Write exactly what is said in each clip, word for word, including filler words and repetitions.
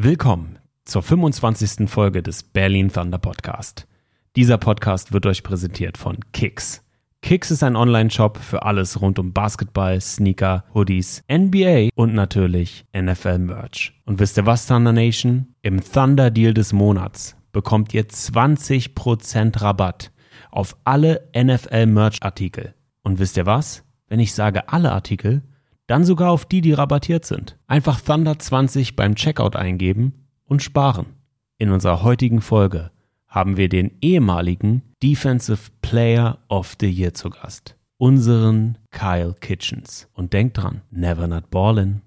Willkommen zur fünfundzwanzigsten Folge des Berlin Thunder Podcast. Dieser Podcast wird euch präsentiert von Kicks. Kicks ist ein Online-Shop für alles rund um Basketball, Sneaker, Hoodies, N B A und natürlich N F L-Merch. Und wisst ihr was, Thunder Nation? Im Thunder-Deal des Monats bekommt ihr zwanzig Prozent Rabatt auf alle N F L-Merch-Artikel. Und wisst ihr was? Wenn ich sage alle Artikel, dann sogar auf die, die rabattiert sind. Einfach Thunder zwanzig beim Checkout eingeben und sparen. In unserer heutigen Folge haben wir den ehemaligen Defensive Player of the Year zu Gast. Unseren Kyle Kitchens. Und denkt dran, never not ballin'.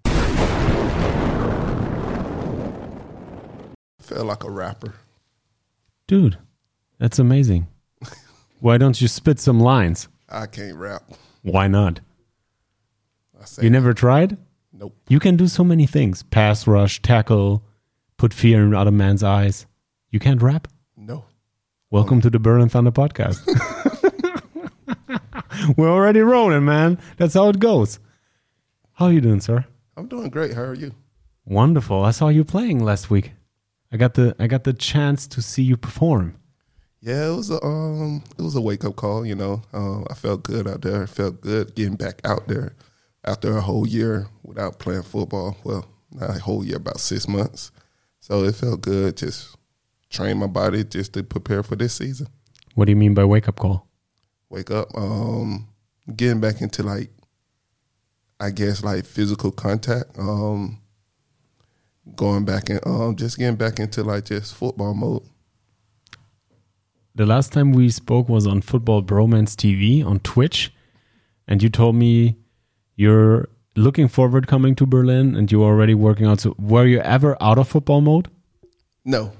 I feel like a rapper. Dude, that's amazing. Why don't you spit some lines? I can't rap. Why not? I say You never tried? nope. You can do so many things. Pass rush, tackle, put fear in other man's eyes. You can't rap? No. Welcome to the Berlin Thunder Podcast. We're already rolling, man. That's how it goes. How are you doing, sir? I'm doing great. How are you? Wonderful. I saw you playing last week. I got the I got the chance to see you perform. Yeah, it was a um, it was a wake up call. You know, uh, I felt good out there. I felt good getting back out there after a whole year without playing football. Well, not a whole year, about six months. So it felt good. Just train my body just to prepare for this season. What do you mean by wake up call? Wake up, um, getting back into like, I guess like physical contact. Um, going back and um, just getting back into like just football mode. The last time we spoke was on Football Bromance T V on Twitch, and you told me you're looking forward coming to Berlin and you're already working out. So were you ever out of football mode? No,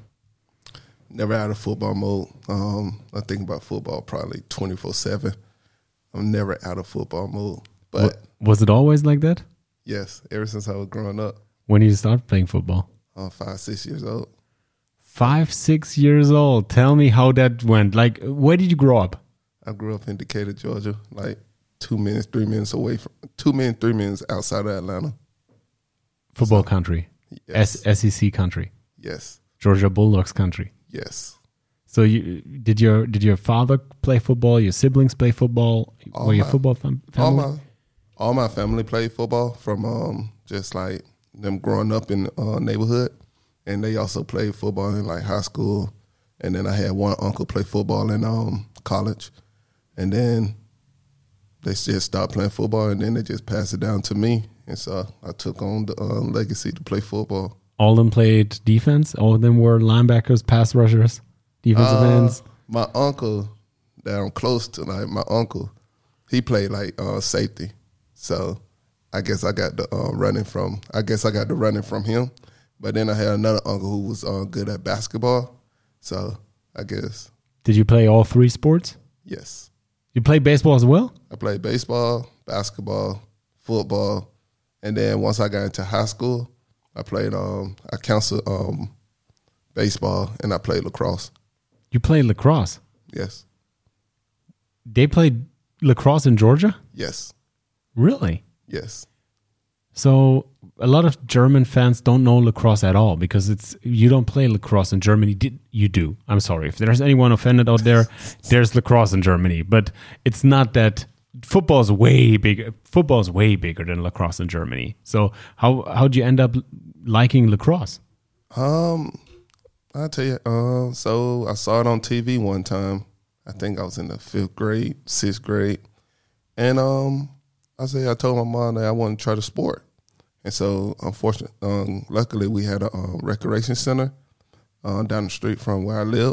never out of football mode. Um, I think about football probably twenty-four seven. I'm never out of football mode. But Was it always like that? yes, ever since I was growing up, When did you start playing football? uh, five, six years old. Five, six years old. Tell me how that went. Like, where did you grow up? I grew up in Decatur, Georgia, like two minutes, three minutes away from, two minutes, three minutes outside of Atlanta. Football country. Yes, S- SEC country. yes, Georgia Bulldogs country. yes. So you did your did your father play football? Your siblings play football? All Were you a my- football fam- All family? my, all my family played football from um, just like them growing up in the uh, neighborhood. And they also played football in like high school. And then I had one uncle play football in um, college. And then they just stopped playing football, and then they just passed it down to me. And so I took on the uh, legacy to play football. All of them played defense. All of them were linebackers, pass rushers, defensive Uh, ends. My uncle that I'm close to, like my uncle, he played like uh, safety. So I guess I got the uh, running from, I guess I got the running from him. But then I had another uncle who was uh, good at basketball. So I guess, Did you play all three sports? yes. You play baseball as well? I played baseball, basketball, football. And then once I got into high school, I played, um, I counseled um, baseball, and I played lacrosse. You played lacrosse. Yes. They played lacrosse in Georgia? Yes. Really? Yes. So a lot of German fans don't know lacrosse at all because it's you don't play lacrosse in Germany. Did you do? I'm sorry if there's anyone offended out there. There's lacrosse in Germany, but it's not that. Football is way bigger. Football is way bigger than lacrosse in Germany. So how how'd you end up liking lacrosse? Um, I'll tell you. Uh, so I saw it on T V one time. I think I was in the fifth grade, sixth grade, and um, I say I told my mom that I wanted to try the sport. And so, unfortunately, um, luckily, we had a um, recreation center uh, down the street from where I live,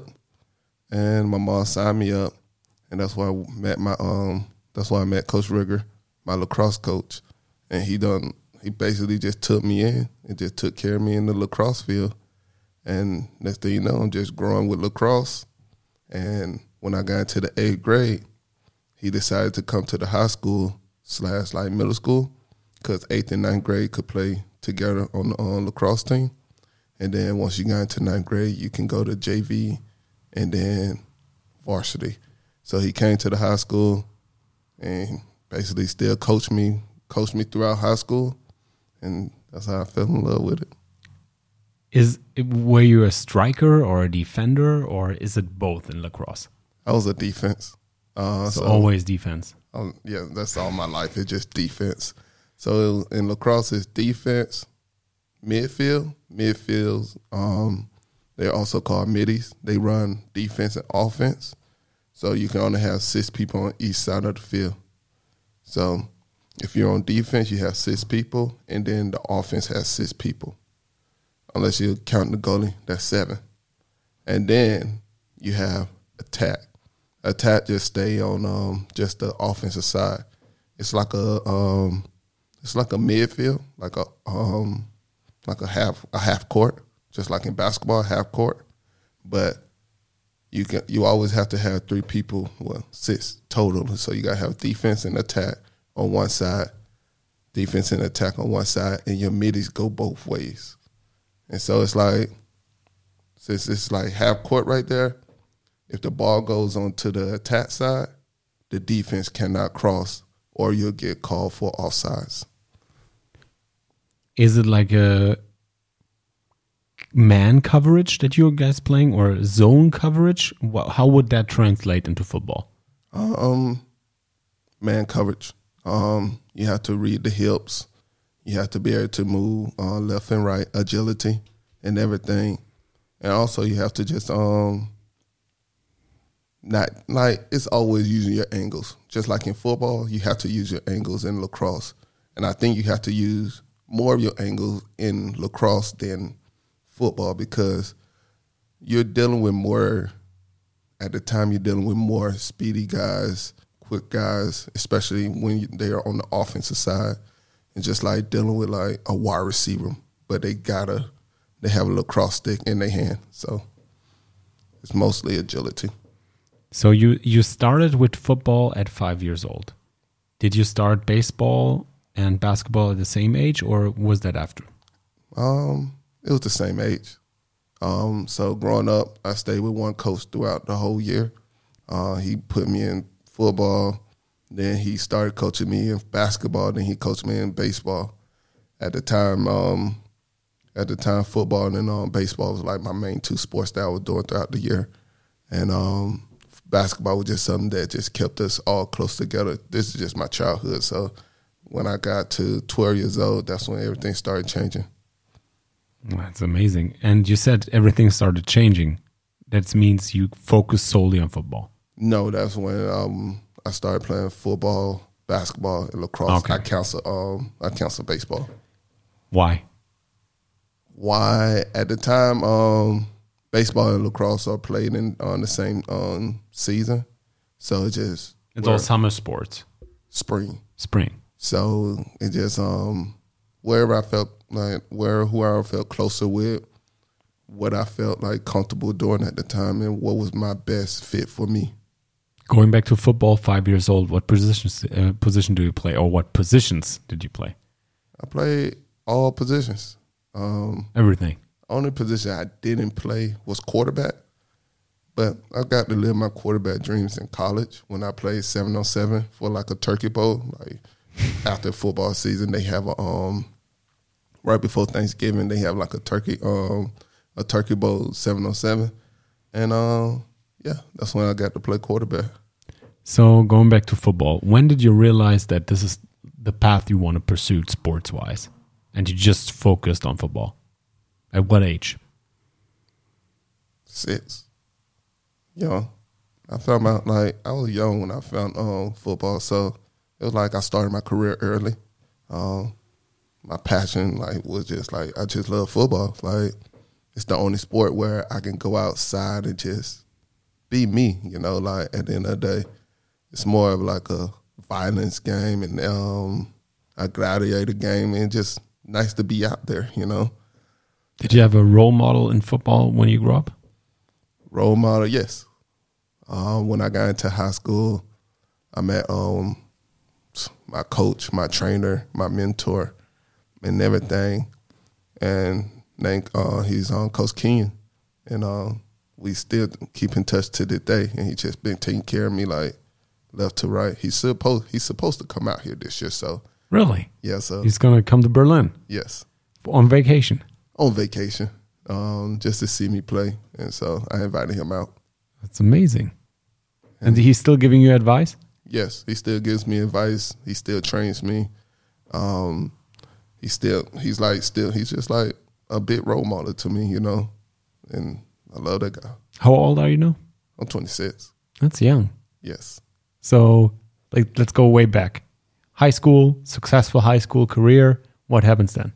and my mom signed me up, and that's why I met my um, that's why I met Coach Rigger, my lacrosse coach, and he done he basically just took me in and just took care of me in the lacrosse field, and next thing you know, I'm just growing with lacrosse, and when I got into the eighth grade, he decided to come to the high school slash like middle school. Because eighth and ninth grade could play together on the on lacrosse team. And then once you got into ninth grade, you can go to J V and then varsity. So he came to the high school and basically still coached me, coached me throughout high school. And that's how I fell in love with it. Is were you a striker or a defender, or is it both in lacrosse? I was a defense. Uh, so, so always defense. Um, yeah, that's all my life. It's just defense. So in lacrosse, it's defense, midfield, midfields. Um, they're also called middies. They run defense and offense. So you can only have six people on each side of the field. So if you're on defense, you have six people, and then the offense has six people. Unless you count the goalie, that's seven. And then you have attack. Attack just stay on um, just the offensive side. It's like a um, it's like a midfield, like a um, like a half a half court, just like in basketball, half court. But you can you always have to have three people, well, six total. So you gotta have defense and attack on one side, defense and attack on one side, and your middies go both ways. And so it's like, since it's like half court right there, if the ball goes onto the attack side, the defense cannot cross, or you'll get called for offsides. Is it like a man coverage that you guys playing, or zone coverage? How would that translate into football? Um, man coverage. Um, you have to read the hips. You have to be able to move uh, left and right, agility and everything. And also you have to just um, not like it's always using your angles. Just like in football, you have to use your angles in lacrosse. And I think you have to use more of your angles in lacrosse than football, because you're dealing with more, at the time you're dealing with more speedy guys, quick guys, especially when they are on the offensive side. And just like dealing with like a wide receiver, but they gotta, they have a lacrosse stick in their hand. So it's mostly agility. So you, you started with football at five years old. Did you start baseball and basketball at the same age, or was that after? Um, it was the same age. Um, so growing up, I stayed with one coach throughout the whole year. Uh, he put me in football. Then he started coaching me in basketball. Then he coached me in baseball. At the time, um, at the time, football and um, baseball was like my main two sports that I was doing throughout the year. And um, basketball was just something that just kept us all close together. This is just my childhood. So when I got to twelve years old, that's when everything started changing. That's amazing. And you said everything started changing. That means you focus solely on football. No, that's when um, I started playing football, basketball, and lacrosse. Okay. I cancel um I cancel baseball. Why? Why? At the time, um, baseball and lacrosse are played in on the same um season, so it just it's all summer sports. Spring, spring. So it just um wherever I felt like where whoever I felt closer with, what I felt like comfortable doing at the time, and what was my best fit for me. Going back to football, five years old, what positions uh, position do you play, or what positions did you play? I played all positions. Um, Everything. Only position I didn't play was quarterback, but I got to live my quarterback dreams in college when I played seven on seven for like a turkey bowl. Like after football season, they have a um right before Thanksgiving they have like a turkey um a turkey bowl seven on seven, and um. Yeah, that's when I got to play quarterback. So going back to football, when did you realize that this is the path you want to pursue sports-wise, and you just focused on football? At what age? Six. Young. I found out, like, I was young when I found um, football, so it was like I started my career early. Um, my passion, like, was just, like, I just love football. Like, it's the only sport where I can go outside and just be me, you know, like at the end of the day, it's more of like a violence game and um, a gladiator game, and just nice to be out there, you know. Did you have a role model in football when you grew up? Role model, yes. Um, when I got into high school, I met um, my coach, my trainer, my mentor, and everything. And named, uh, he's on um, Coach Kenyon, and um, we still keep in touch to this day, and he just been taking care of me like left to right. He's supposed he's supposed to come out here this year, so really, yeah. So he's gonna come to Berlin. Yes, on vacation. On vacation, um, just to see me play. And so I invited him out. That's amazing. And, and he's still giving you advice? Yes, he still gives me advice. He still trains me. Um, he still, he's like, still, he's just like a big role model to me, you know, and I love that guy. How old are you now? I'm twenty-six. That's young. Yes. So, like, let's go way back. High school, successful high school career. What happens then?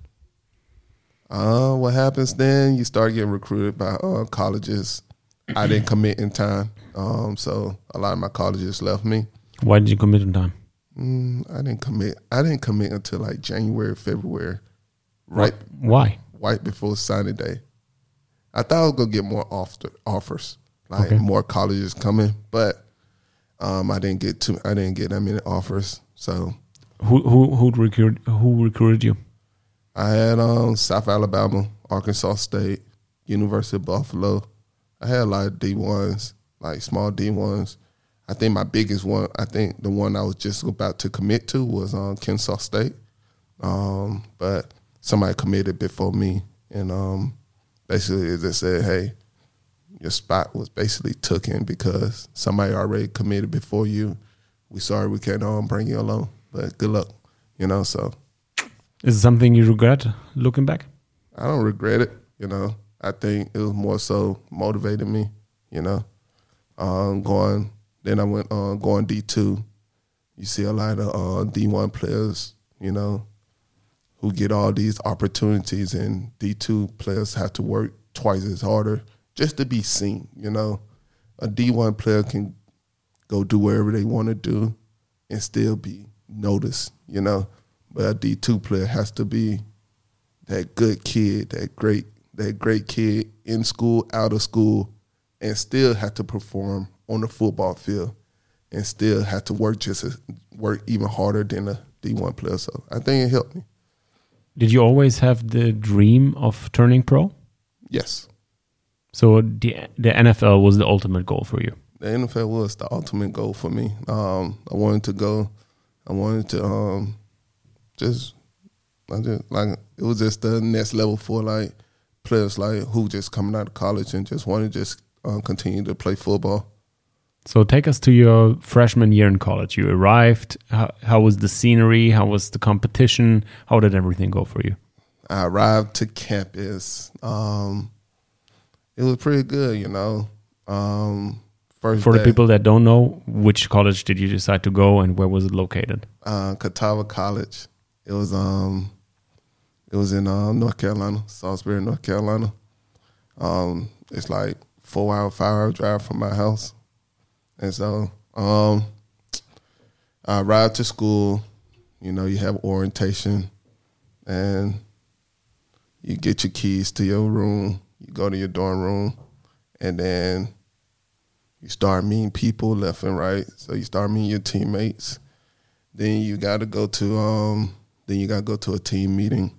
Uh, what happens then? You start getting recruited by uh, colleges. I didn't commit in time, um, so a lot of my colleges left me. Why did you commit in time? Mm, I didn't commit. I didn't commit until like January, February, right? Why? Right before signing day. I thought I was gonna get more offer, offers, like okay. more colleges coming, but um, I didn't get too. I didn't get that many offers. So, who who who recruited who recruited you? I had um, South Alabama, Arkansas State, University of Buffalo. I had a lot of D ones, like small D ones. I think my biggest one, I think the one I was just about to commit to was um, Kennesaw State. Um, but somebody committed before me. And um, basically they said, hey, your spot was basically taken because somebody already committed before you. We sorry we can't um, bring you along, but good luck, you know, so. Is it something you regret looking back? I don't regret it, you know. I think it was more so motivated me, you know, um, going. Then I went uh, going D two. You see a lot of uh, D one players, you know, who get all these opportunities, and D two players have to work twice as harder just to be seen, you know. A D one player can go do wherever they want to do and still be noticed, you know. But a D two player has to be that good kid, that great, that great kid in school, out of school, and still have to perform on the football field, and still have to work just as, work even harder than a D one player. So I think it helped me. Did you always have the dream of turning pro? Yes. So the the N F L was the ultimate goal for you. The N F L was the ultimate goal for me. Um, I wanted to go. I wanted to um, just, I just like it was just the next level for like players like who just coming out of college and just want to just uh, continue to play football. So take us to your freshman year in college. You arrived. How, how was the scenery? How was the competition? How did everything go for you? I arrived to campus. Um, it was pretty good, you know. Um, first for day, the people that don't know, which college did you decide to go and where was it located? Uh, Catawba College. It was um, it was in uh, North Carolina, Salisbury, North Carolina. Um, it's like four hour, five hour drive from my house. And so um, I arrived to school, you know, you have orientation, and you get your keys to your room, you go to your dorm room, and then you start meeting people left and right. So you start meeting your teammates. Then you got to go to, um, then you got to go to a team meeting.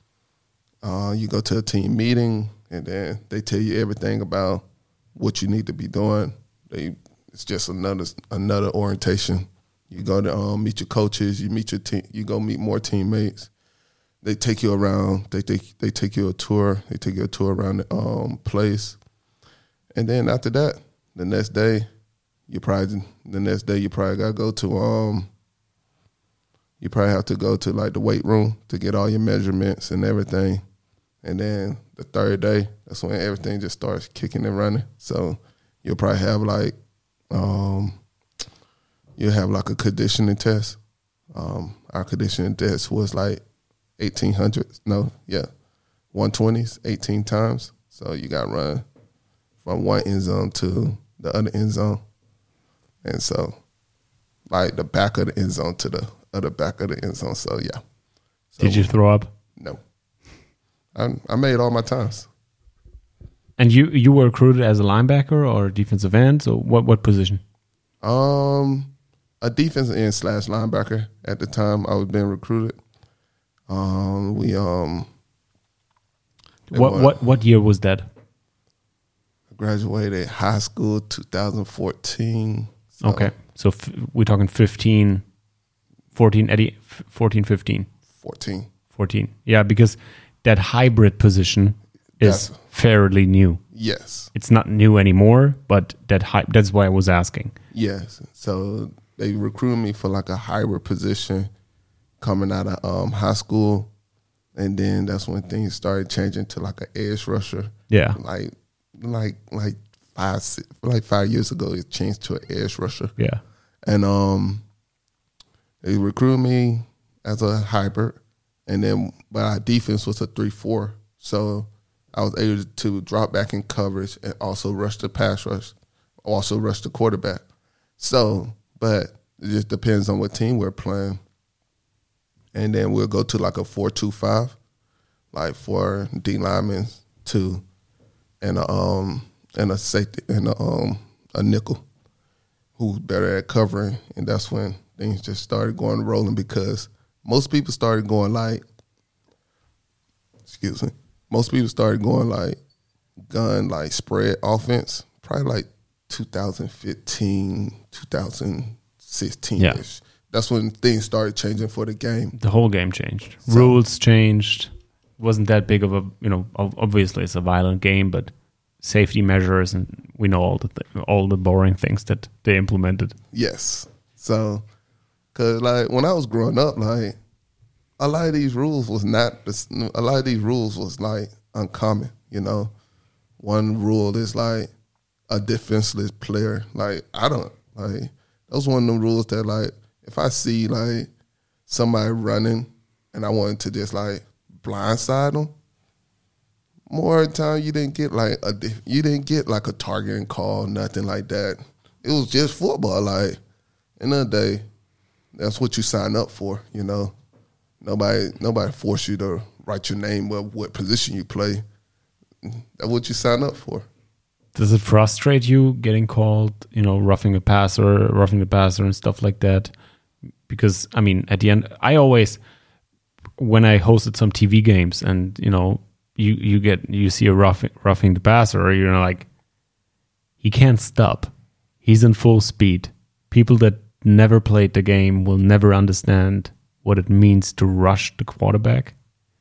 Uh, you go to a team meeting, and then they tell you everything about what you need to be doing. They It's just another another orientation. You go to um, meet your coaches. You meet your team. You go meet more teammates. They take you around. They take they take you a tour. They take you a tour around the um, place, and then after that, the next day, you probably the next day you probably gotta go to um. You probably have to go to like the weight room to get all your measurements and everything, and then the third day, that's when everything just starts kicking and running. So you'll probably have like. Um, you have like a conditioning test. Um, our conditioning test was like eighteen hundred. No, yeah, one twenties, eighteen times. So you got to run from one end zone to the other end zone, and so like the back of the end zone to the other back of the end zone. So yeah. So, did you throw up? No, I, I made all my times. And you, you were recruited as a linebacker or defensive end? So what, what position? Um, a defensive end slash linebacker. At the time I was being recruited. Um, we um. What was, what what year was that? I graduated high school two thousand fourteen. So okay, so f- we're talking fifteen, fourteen, Eddie, fourteen, fifteen. fourteen. fourteen. Yeah, because that hybrid position is That's, fairly new. Yes. It's not new anymore, but that hype, that's why I was asking. Yes. So they recruited me for like a hybrid position coming out of um, high school. And then that's when things started changing to like an edge rusher. Yeah. Like like like five like five years ago it changed to an edge rusher. Yeah. And um they recruited me as a hybrid, and then but our defense was a three four. So I was able to drop back in coverage and also rush the pass rush, also rush the quarterback. So, but it just depends on what team we're playing. And then we'll go to like a four two five, like four D linemen, two, and a um and a safety and a um a nickel who's better at covering. And that's when things just started going rolling, because most people started going like excuse me. Most people started going like gun, like spread offense, probably like two thousand fifteen, two thousand sixteen-ish. Yeah. That's when things started changing for the game. The whole game changed. So, rules changed. Wasn't that big of a, you know, obviously it's a violent game, but safety measures, and we know all the th- all the boring things that they implemented. Yes. So, because like when I was growing up, like, a lot of these rules was not, a lot of these rules was like uncommon, you know. One rule is like a defenseless player. Like, I don't, like, that was one of the rules that, like, if I see like somebody running and I wanted to just like blindside them, more of the time you didn't get like a, you didn't get like a targeting call, nothing like that. It was just football. Like, end of the day, that's what you sign up for, you know. Nobody, nobody forced you to write your name of what position you play. That's what you sign up for. Does it frustrate you getting called, you know, roughing a passer, roughing the passer, and stuff like that? Because I mean, at the end, I always, when I hosted some T V games, and you know, you you get you see a roughing roughing the passer, or you're like, he can't stop. He's in full speed. People that never played the game will never understand what it means to rush the quarterback,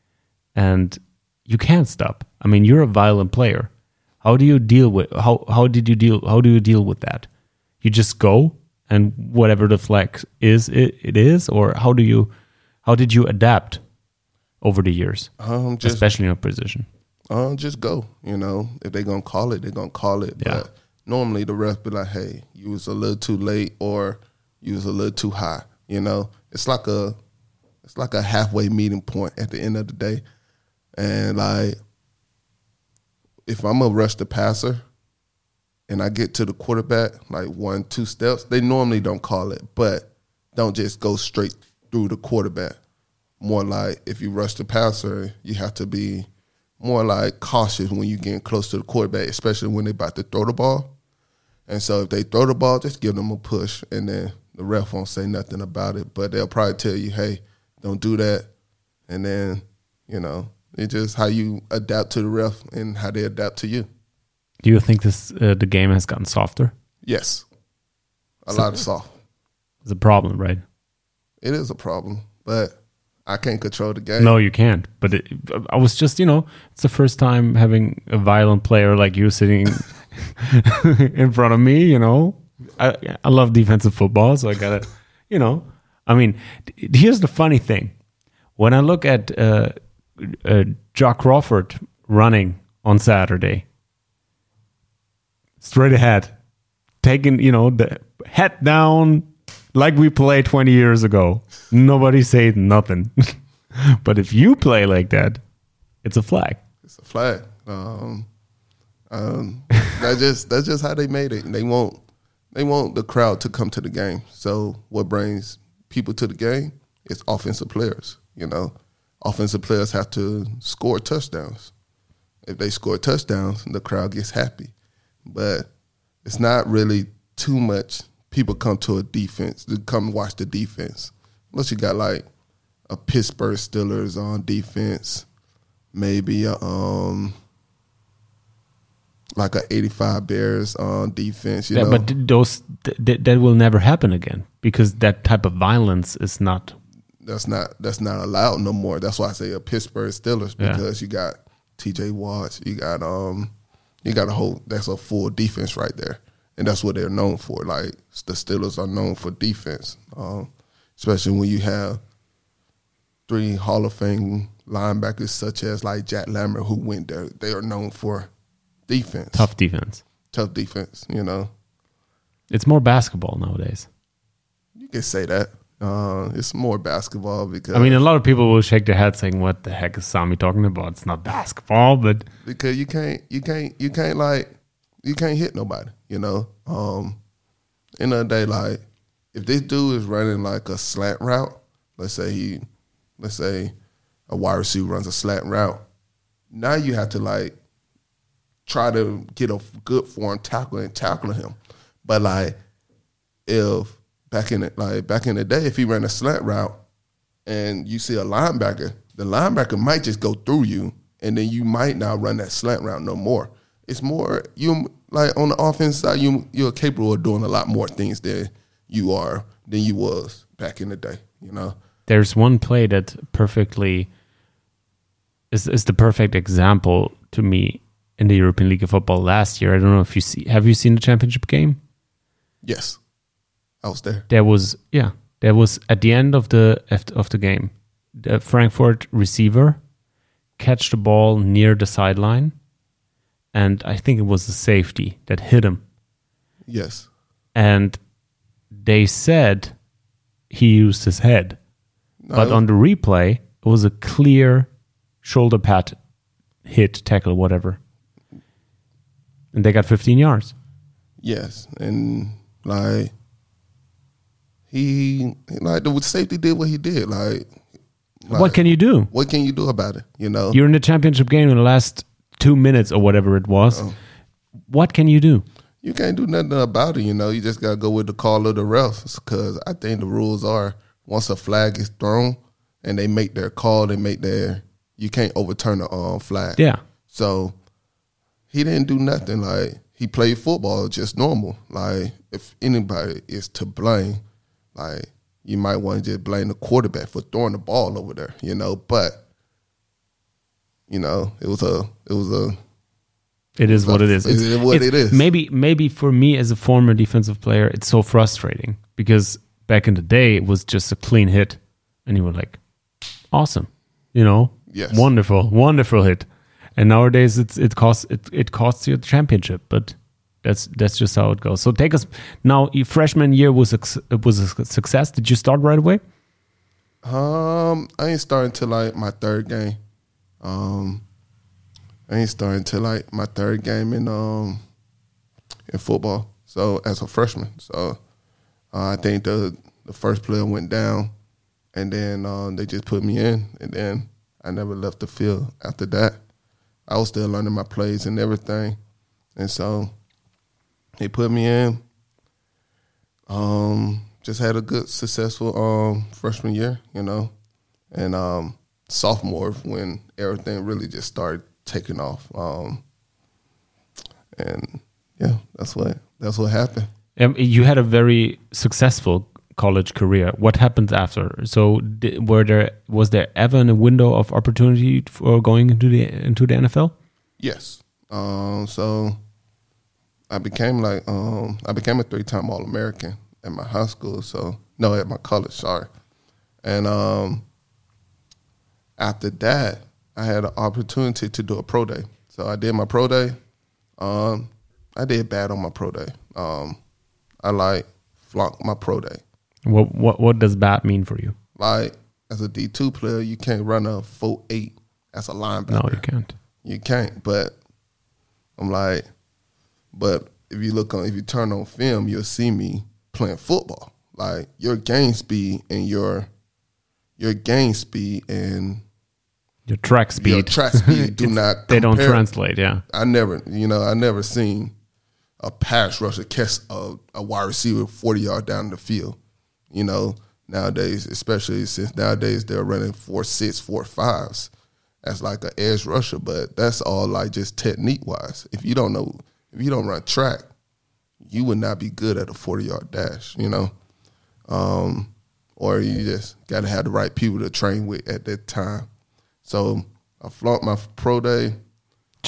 and you can't stop. I mean, you're a violent player. How do you deal with how how did you deal how do you deal with that? You just go, and whatever the flag is, it, it is, or how do you how did you adapt over the years, um, just, especially in a position? Um, just go. You know, if they're gonna call it, they're gonna call it. Yeah. But normally the ref be like, "Hey, you was a little too late, or you was a little too high." You know, it's like a it's like a halfway meeting point at the end of the day, and like, if I'm gonna rush the passer and I get to the quarterback like one, two steps, they normally don't call it, but don't just go straight through the quarterback. More like if you rush the passer, you have to be more like cautious when you're getting close to the quarterback, especially when they're about to throw the ball. And so if they throw the ball, just give them a push, and then the ref won't say nothing about it, but they'll probably tell you, hey, don't do that. And then, you know, it's just how you adapt to the ref and how they adapt to you. Do you think this uh, the game has gotten softer? Yes. A so, lot of soft. It's a problem, right? It is a problem, but I can't control the game. No, you can't. But it, I was just, you know, it's the first time having a violent player like you sitting in front of me, you know. I, I love defensive football, so I got to, you know. I mean, here's the funny thing. When I look at uh, uh, Jack Crawford running on Saturday, straight ahead, taking, you know, the head down like we played twenty years ago. Nobody said nothing. But if you play like that, it's a flag. It's a flag. Um, um, that's just that's just how they made it. They want they want the crowd to come to the game. So what brings people to the game is offensive players. You know, offensive players have to score touchdowns. If they score touchdowns, the crowd gets happy. But it's not really too much people come to a defense, to come watch the defense. Unless you got like a Pittsburgh Steelers on defense, maybe a, um, like a eighty-five Bears on defense. You yeah, know? But those th- that will never happen again, because that type of violence is not. That's not that's not allowed no more. That's why I say a Pittsburgh Steelers, because yeah. you got T J Watts. You got um, you got a whole that's a full defense right there, and that's what they're known for. Like the Steelers are known for defense, um, especially when you have three Hall of Fame linebackers such as like Jack Lambert who went there. They are known for defense, Tough defense. tough defense. You know, It's more basketball nowadays. you can say that. Uh, it's more basketball because I mean, a lot of people will shake their head saying, "What the heck is Sami talking about? It's not basketball." But because you can't you can't you can't like you can't hit nobody, you know. Um end of the day, like if this dude is running like a slant route, let's say he let's say a wide receiver runs a slant route, now you have to like try to get a good form tackle and tackle him. But like if back in the, like back in the day, if he ran a slant route and you see a linebacker, the linebacker might just go through you, and then you might not run that slant route no more. It's more you like on the offense side, you you're capable of doing a lot more things than you are than you was back in the day. You know, there's one play that perfectly is is the perfect example to me in the European League of Football last year. I don't know if you see. Have you seen the championship game? Yes, I was there. There was yeah, there was at the end of the of the game, the Frankfurt receiver catch the ball near the sideline, and I think it was the safety that hit him. Yes, and they said he used his head, no, but on the replay it was a clear shoulder pad hit, tackle, whatever, and they got fifteen yards. Yes, and like he like the safety did what he did. Like, like what can you do? What can you do about it? You know, You're in the championship game in the last two minutes or whatever it was. Uh-oh. What can you do? You can't do nothing about it. You know, you just gotta go with the call of the refs because I think the rules are once a flag is thrown and they make their call, they make their you can't overturn the um, flag. Yeah. So he didn't do nothing. Like he played football just normal. Like if anybody is to blame, like you might want to just blame the quarterback for throwing the ball over there, you know. But you know, it was a, it was a. It is what it is. It's, it's what it's, it is. Maybe, maybe for me as a former defensive player, it's so frustrating because back in the day it was just a clean hit, and you were like, awesome, you know, yes, wonderful, wonderful hit. And nowadays it's it costs it, it costs you the championship, but that's that's just how it goes. So take us now. Your freshman year was a, was a success. Did you start right away? Um, I ain't starting till like my third game. Um, I ain't starting till like my third game in um in football. So as a freshman, so uh, I think the the first player went down, and then um, they just put me in, and then I never left the field after that. I was still learning my plays and everything, and so they put me in. Um, just had a good, successful um, freshman year, you know, and um, sophomore when everything really just started taking off. Um, and yeah, that's what that's what happened. Um, you had a very successful college career. What happened after? So, did, were there was there ever a window of opportunity for going into the into the N F L? Yes. Um, so I became like um, I became a three-time All-American at my high school. So no, at my college. Sorry. And um, after that, I had an opportunity to do a pro day. So I did my pro day. Um, I did bad on my pro day. Um, I like flunked my pro day. What what what does bad mean for you? Like as a D two player, you can't run a four eight as a linebacker. No, you can't. You can't. But I'm like, but if you look on, if you turn on film, you'll see me playing football. Like your game speed and your your game speed and your track speed, your track speed do not. They compare. don't translate. Yeah, I never, you know, I never seen a pass rusher catch a, a wide receiver forty yards down the field. You know, nowadays, especially since nowadays they're running four six, four fives. That's like an edge rusher, but that's all like just technique wise. If you don't know, if you don't run track, you would not be good at a forty yard dash. You know, um, or you just got to have the right people to train with at that time. So I flunked my pro day.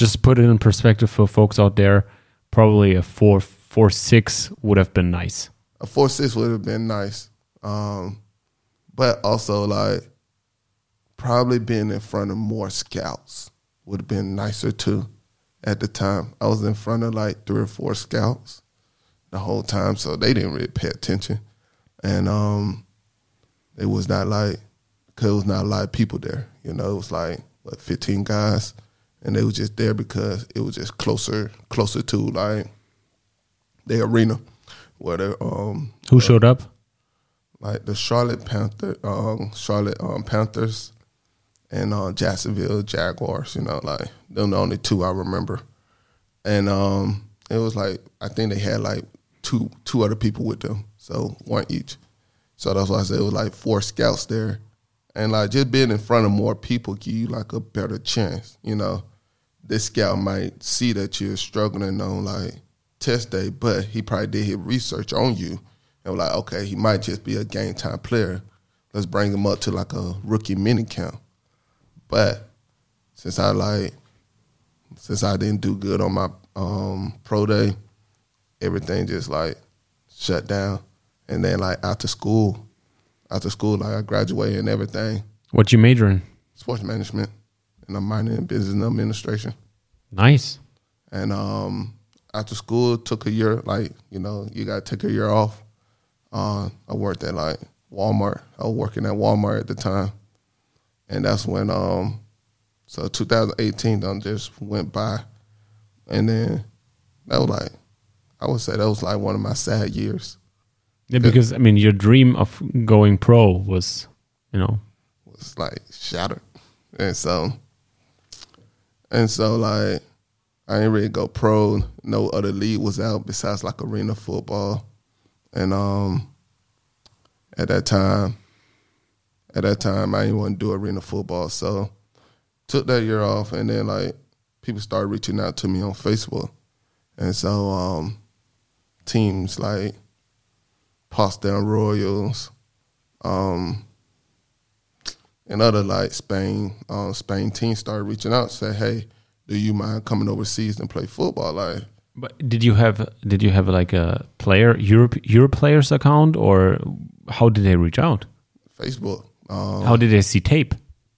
just to put it in perspective for folks out there, probably a four four six would have been nice. A four six would have been nice, um, but also like probably being in front of more scouts would have been nicer too. At the time, I was in front of like three or four scouts the whole time, so they didn't really pay attention, and um, it was not like because it was not a lot of people there. You know, it was like what fifteen guys, and they were just there because it was just closer, closer to like the arena where the um. Who uh, showed up? Like the Charlotte Panther, um, Charlotte um, Panthers. And uh, Jacksonville Jaguars, you know, like them the only two I remember. And um, it was like I think they had like two two other people with them, so one each. So that's why I said it was like four scouts there, and like just being in front of more people give you like a better chance. You know, this scout might see that you're struggling on like test day, but he probably did his research on you and was like, okay, he might just be a game time player. Let's bring him up to like a rookie mini camp. But since I like, since I didn't do good on my um, pro day, everything just like shut down. And then like after school, after school, like I graduated and everything. What you major in? Sports management, and I'm minoring in business administration. Nice. And um, after school, took a year. Like you know, you got to take a year off. Uh, I worked at like Walmart. I was working at Walmart at the time. And that's when, um, so twenty eighteen done just went by. And then that was like, I would say that was like one of my sad years. Yeah, because, I mean, your dream of going pro was, you know. Was like shattered. And so, and so like, I didn't really go pro. No other league was out besides like arena football. And um, at that time, At that time, I didn't want to do arena football, so took that year off, and then like people started reaching out to me on Facebook, and so um, teams like Potsdam Royals, um, and other like Spain, um, Spain teams started reaching out, say, "Hey, do you mind coming overseas and play football?" Like, but did you have did you have like a player Europe Europe players account, or how did they reach out? Facebook. Um, How did they see tape?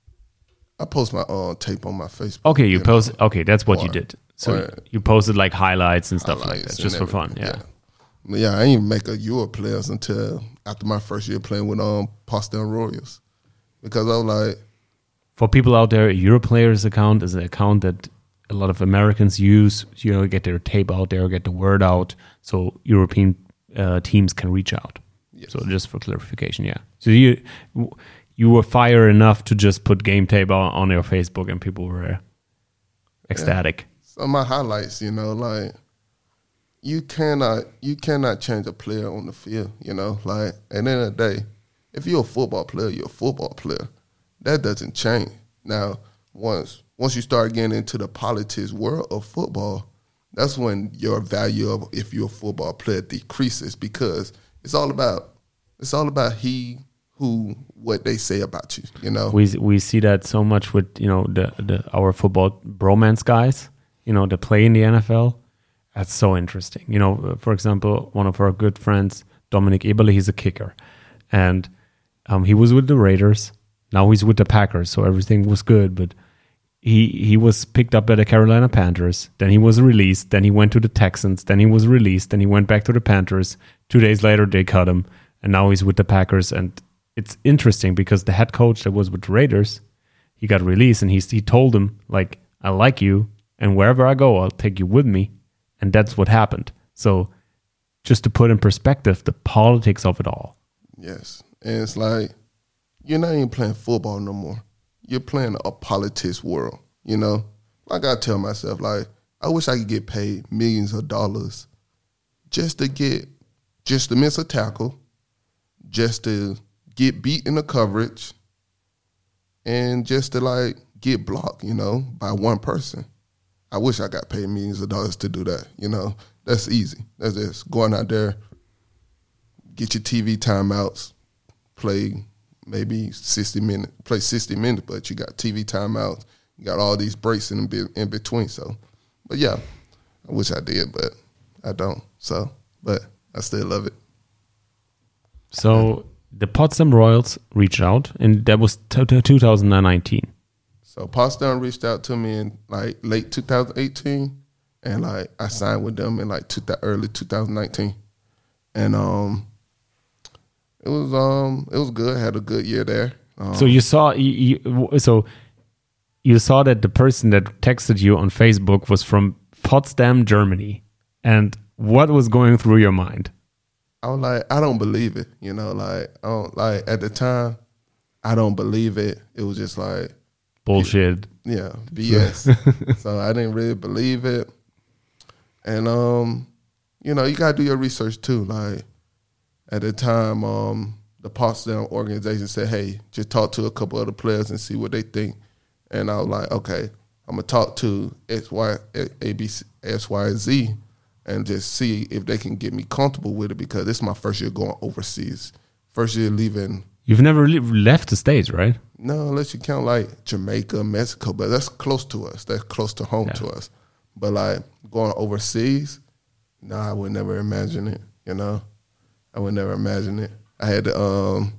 I post my uh, tape on my Facebook. Okay, you post. Know, okay, that's what or, you did. So or, you posted like highlights and stuff highlights like that, just for fun. Yeah. yeah, yeah. I didn't even make a Euro players until after my first year playing with um Potsdam Royals, because I was like, for people out there, a Euro players account is an account that a lot of Americans use. You know, get their tape out there, get the word out, so European uh, teams can reach out. Yes. So just for clarification, yeah. So you. You were fire enough to just put game tape on, on your Facebook, and people were ecstatic. Yeah. So my highlights, you know, like you cannot you cannot change a player on the field, you know. Like at the end of the day, if you're a football player, you're a football player. That doesn't change. Now, once once you start getting into the politics world of football, that's when your value of if you're a football player decreases, because it's all about it's all about he. Who what they say about you, you know. We we see that so much with you know the the our football bromance guys, you know, that play in the N F L. That's so interesting. You know, for example, one of our good friends, Dominic Eberle, he's a kicker, and um, he was with the Raiders. Now he's with the Packers, so everything was good. But he he was picked up by the Carolina Panthers. Then he was released. Then he went to the Texans. Then he was released. Then he went back to the Panthers. Two days later, they cut him, and now he's with the Packers. And it's interesting because the head coach that was with the Raiders, he got released, and he he told him, like, I like you, and wherever I go, I'll take you with me. And that's what happened. So just to put in perspective the politics of it all. Yes. And it's like, you're not even playing football no more. You're playing a politics world, you know? Like I tell myself, like, I wish I could get paid millions of dollars just to get, just to miss a tackle, just to get beat in the coverage, and just to like get blocked, you know, by one person. I wish I got paid millions of dollars to do that, you know. That's easy. That's just going out there, get your T V timeouts, play maybe sixty minutes, play sixty minutes, but you got T V timeouts, You got all these breaks in in between. So, but yeah, I wish I did, but I don't. So, but I still love it. So the Potsdam Royals reached out, and that was t- t- two thousand nineteen. So Potsdam reached out to me in like late two thousand eighteen, and like I signed with them in like two, early two thousand nineteen, and um, it was um it was good. Had a good year there. Um, so you saw you, you, so you saw that the person that texted you on Facebook was from Potsdam, Germany, and what was going through your mind? I was like, I don't believe it. You know, like I don't like at the time, I don't believe it. It was just like bullshit. Yeah, B S. So I didn't really believe it. And um, you know, you gotta do your research too. Like at the time, um, the Potsdam organization said, hey, just talk to a couple other players and see what they think. And I was like, okay, I'm gonna talk to X, Y, A, B, C, X, Y, and Z and just see if they can get me comfortable with it, because this is my first year going overseas. First year leaving. You've never li- left the States, right? No, unless you count like Jamaica, Mexico, but that's close to us. That's close to home yeah. to us. But like going overseas, no, nah, I would never imagine it, you know? I would never imagine it. I had to, um,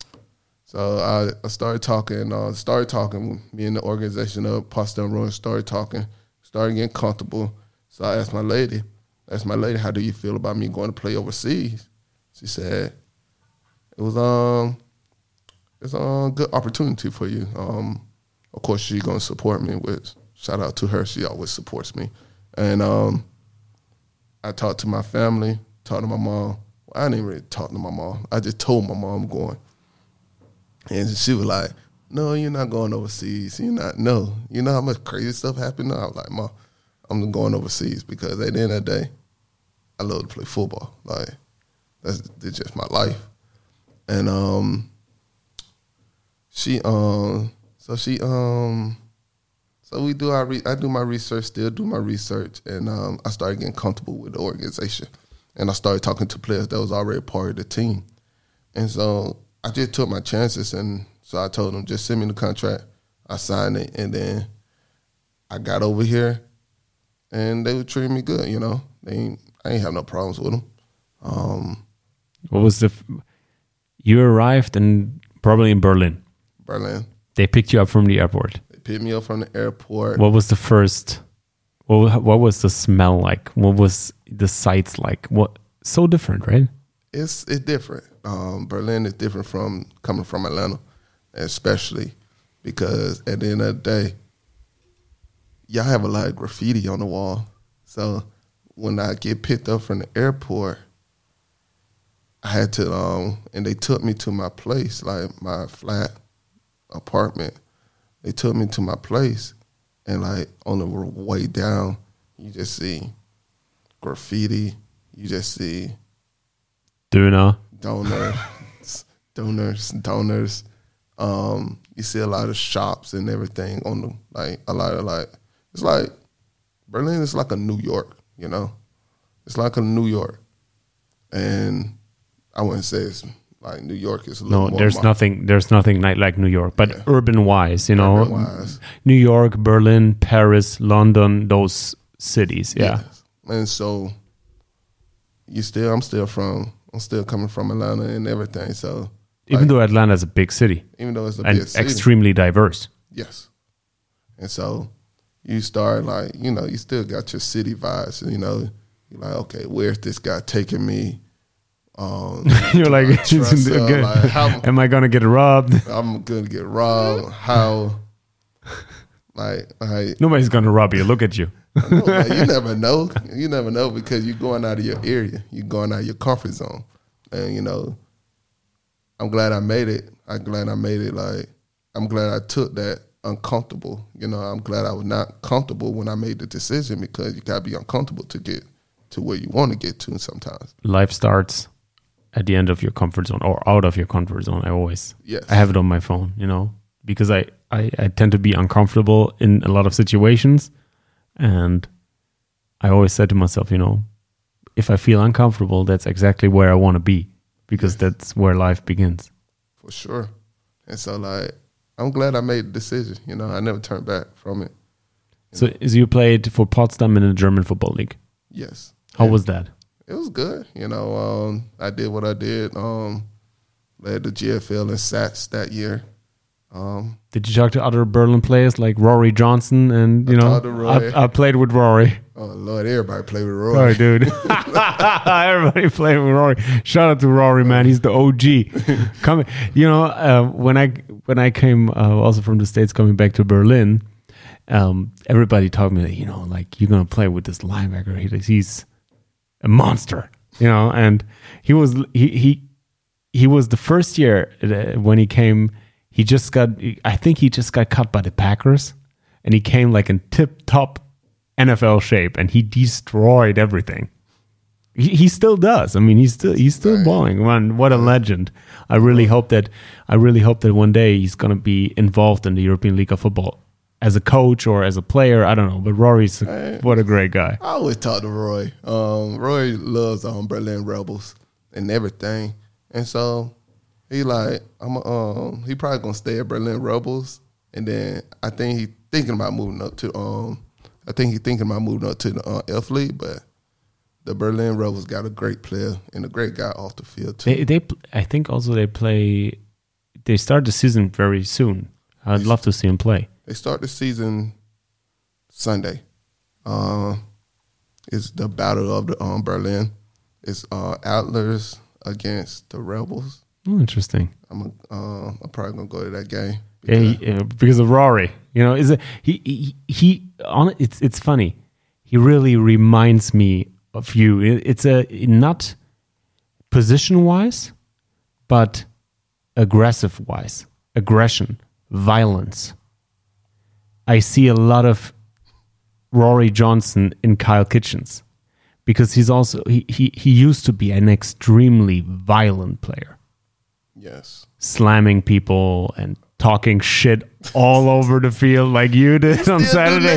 so I, I started talking, uh, started talking, me and the organization of Potsdam Royals started talking, started getting comfortable. So I asked my lady, I asked my lady, how do you feel about me going to play overseas? She said, it was um, it's a good opportunity for you. Um, of course, she's going to support me with, shout out to her, she always supports me. And um, I talked to my family, talked to my mom. Well, I didn't really talk to my mom. I just told my mom I'm going. And she was like, no, you're not going overseas. You're not, no. You know how much crazy stuff happened? I was like, Mom, I'm going overseas because at the end of the day, I love to play football. Like, that's, that's just my life. And um, she, um, so she, um, so we do our, re- I do my research, still do my research, and um, I started getting comfortable with the organization. And I started talking to players that was already part of the team. And so I just took my chances, and so I told them, just send me the contract. I signed it, and then I got over here, and they were treating me good, you know. They ain't, I ain't have no problems with them. Um, what was the... F- you arrived in probably in Berlin. Berlin. They picked you up from the airport. They picked me up from the airport. What was the first... What, what was the smell like? What was the sights like? What so different, right? It's it's different. Um, Berlin is different from coming from Atlanta, especially because at the end of the day, y'all have a lot of graffiti on the wall. So when I get picked up from the airport, I had to, um, and they took me to my place, like my flat apartment. They took me to my place, and like on the way down, you just see graffiti. You just see Döner. Donors, donors, donors. Um, you see a lot of shops and everything on the, like a lot of like, it's like, Berlin is like a New York, you know? It's like a New York. And I wouldn't say it's like New York is a little no, more. there's my, nothing, there's nothing like, like New York, but yeah. urban wise, you know, Urban-wise. New York, Berlin, Paris, London, those cities. Yeah. Yes. And so you still, I'm still from, I'm still coming from Atlanta and everything. So even like, though Atlanta is a big city, even though it's a and big city, extremely diverse. yes. And so you start like, you know, you still got your city vibes. And, you know, you're like, okay, where's this guy taking me? Um, You're like, trust, uh, like how, am I gonna get robbed? I'm gonna get robbed. How? Like, like nobody's gonna rob you. Look at you. No, man, you never know. You never know because you're going out of your area. You're going out of your comfort zone. And, you know, I'm glad I made it. I'm glad I made it. Like, I'm glad I took that uncomfortable. You know, I'm glad I was not comfortable when I made the decision, because you got to be uncomfortable to get to where you want to get to sometimes. Life starts at the end of your comfort zone or out of your comfort zone. I always, yes. I have it on my phone, you know, because I, I, I tend to be uncomfortable in a lot of situations. And I always said to myself, you know, if I feel uncomfortable, that's exactly where I want to be, because yes. that's where life begins. For sure. And so, like, I'm glad I made the decision. You know, I never turned back from it. You so, know. so you played for Potsdam in the German Football League? Yes. How yeah. was that? It was good. You know, um, I did what I did. Um, led the G F L in sacks that year. Um, Did you talk to other Berlin players like Rory Johnson? And, you I know, I, I played with Rory. Oh, Lord, everybody played with Rory. Rory, dude. Everybody played with Rory. Shout out to Rory, man. He's the O G. Coming, you know, uh, when I when I came uh, also from the States, coming back to Berlin, um, everybody told me that, you know, like, you're going to play with this linebacker. He, he's a monster, you know, and he was, he, he, he was the first year uh, when he came. He just got, I think he just got cut by the Packers, and he came like in tip-top N F L shape, and he destroyed everything. He, he still does. I mean, he's still he's still balling. Man, what a legend! I really hope that I really hope that one day he's gonna be involved in the European League of Football as a coach or as a player. I don't know, but Rory's a, what a great guy. I always talk to Roy. Um, Roy loves um, Berlin Rebels and everything, and so. He like I'm a, um he probably gonna stay at Berlin Rebels, and then I think he thinking about moving up to um I think he thinking about moving up to the uh, F League, but the Berlin Rebels got a great player and a great guy off the field too. They, they I think also they play they start the season very soon. I'd love to see him play. They start the season Sunday. Uh, it's the Battle of the um, Berlin. It's uh, Adlers against the Rebels. Oh, interesting. I'm a, uh, I'm probably gonna go to that game because, yeah, he, uh, because of Rory. You know, is it he he, he on it's it's funny. He really reminds me of you. It, it's a not position wise, but aggressive wise, aggression, violence. I see a lot of Rory Johnson in Kyle Kitchens because he's also he he he used to be an extremely violent player. Yes. Slamming people and talking shit all over the field like you did on Saturday.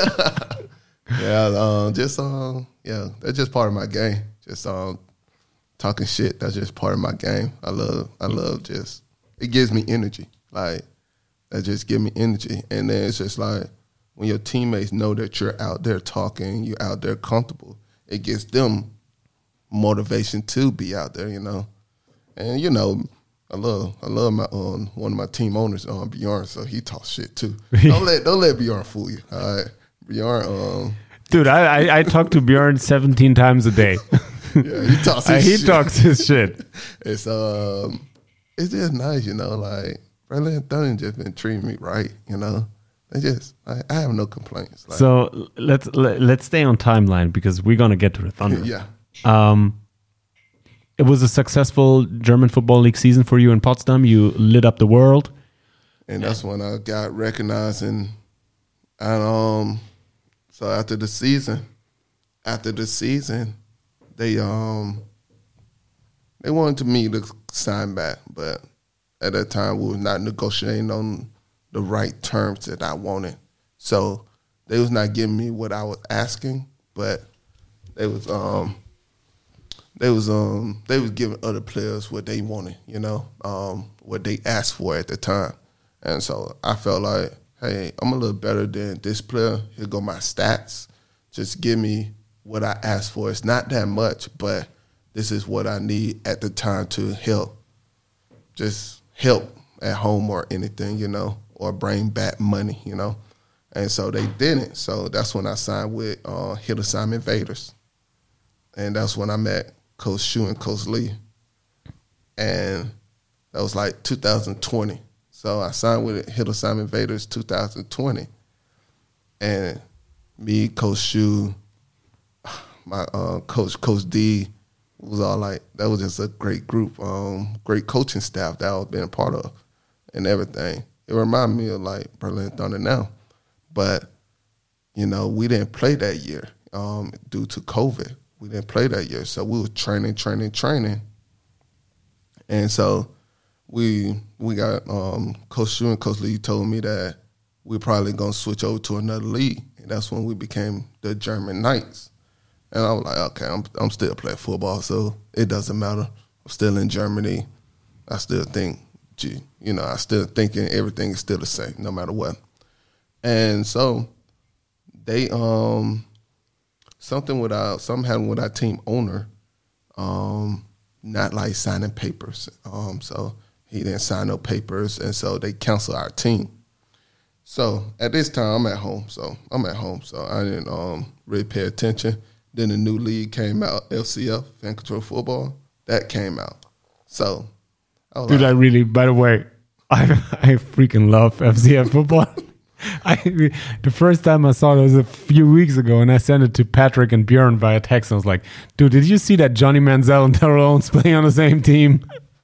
yeah, um, just um, yeah, that's just part of my game. Just um, talking shit. That's just part of my game. I love, I love just. It gives me energy. Like that just gives me energy, and then it's just like when your teammates know that you're out there talking, you're out there comfortable. It gives them motivation to be out there, you know, and you know. I love, I love my um, one of my team owners, um, Bjorn. So he talks shit too. don't let, don't let Bjorn fool you. All right, Bjorn. Um, Dude, I, I, I talk to Bjorn seventeen times a day. yeah, he talks. His uh, he shit. talks his shit. It's um, it's just nice, you know. Like Berlin Thunder just been treating me right, you know. They just, I, I have no complaints. Like, so let's let, let's stay on timeline because we're gonna get to the Thunder. yeah. Um. It was a successful German Football League season for you in Potsdam. You lit up the world. And that's when I got recognized. And, and um, so after the season, after the season, they um they wanted me to sign back. But at that time, we were not negotiating on the right terms that I wanted. So they was not giving me what I was asking, but they was um. They was um they was giving other players what they wanted, you know, um, what they asked for at the time. And so I felt like, hey, I'm a little better than this player. Here go my stats. Just give me what I asked for. It's not that much, but this is what I need at the time to help. Just help at home or anything, you know, or bring back money, you know. And so they didn't. So that's when I signed with uh, Hildesheim Invaders. And that's when I met Coach Shu and Coach Lee. And that was like two thousand twenty. So I signed with Hildesheim Invaders two thousand twenty. And me, Coach Shu, my uh, coach, Coach D, was all like, that was just a great group, um, great coaching staff that I was being a part of and everything. It reminded me of like Berlin Thunder now. But, you know, we didn't play that year um, due to COVID. We didn't play that year, so we were training, training, training, and so we we got um, Coach Shu and Coach Lee told me that we're probably gonna switch over to another league, and that's when we became the German Knights. And I was like, okay, I'm I'm still playing football, so it doesn't matter. I'm still in Germany. I still think G. You know, I still thinking everything is still the same, no matter what. And so they um something with our something happened with our team owner, um, not like signing papers. Um, so he didn't sign no papers, and so they canceled our team. So at this time, I'm at home. So I'm at home. So I didn't um, really pay attention. Then the new league came out, L C F, Fan Control Football. That came out. So I was Dude, like, I really, by the way, I I freaking love F C F football. I the first time I saw it was a few weeks ago, and I sent it to Patrick and Björn via text. And I was like, dude, did you see that Johnny Manziel and Terrell Owens playing on the same team?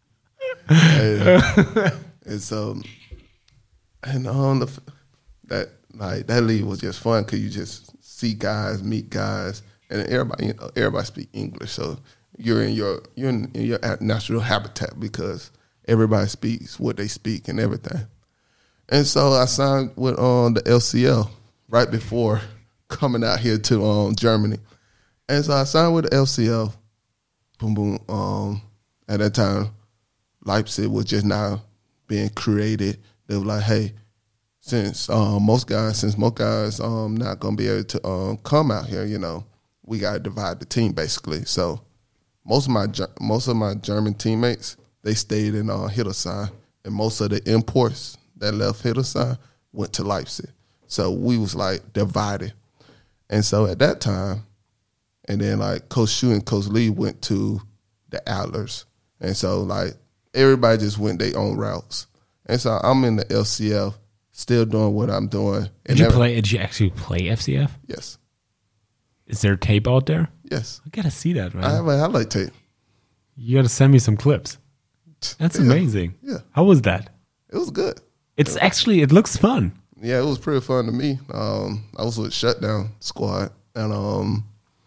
and, and so, and on the that like that league was just fun because you just see guys, meet guys, and everybody you know, everybody speak English, so you're in your you're in, in your natural habitat because everybody speaks what they speak and everything. And so I signed with um, the L C L right before coming out here to um, Germany. And so I signed with the L C L. Boom, boom. Um, at that time, Leipzig was just now being created. They were like, hey, since um, most guys, since most guys um not gonna be able to um, come out here, you know, we gotta divide the team basically. So most of my most of my German teammates, they stayed in uh, Hildesheim, and most of the imports that left Hildesheim went to Leipzig. So we was like divided. And so at that time, and then like Coach Shu and Coach Lee went to the Adlers. And so like everybody just went their own routes. And so I'm in the L C F, still doing what I'm doing. Did you play? Did you actually play F C F? Yes. Is there tape out there? Yes. I gotta see that, man. I have a highlight tape. You gotta send me some clips. That's yeah. amazing. Yeah. How was that? It was good. It's actually, it looks fun. Yeah, it was pretty fun to me. Um, I was with Shutdown Squad, and um,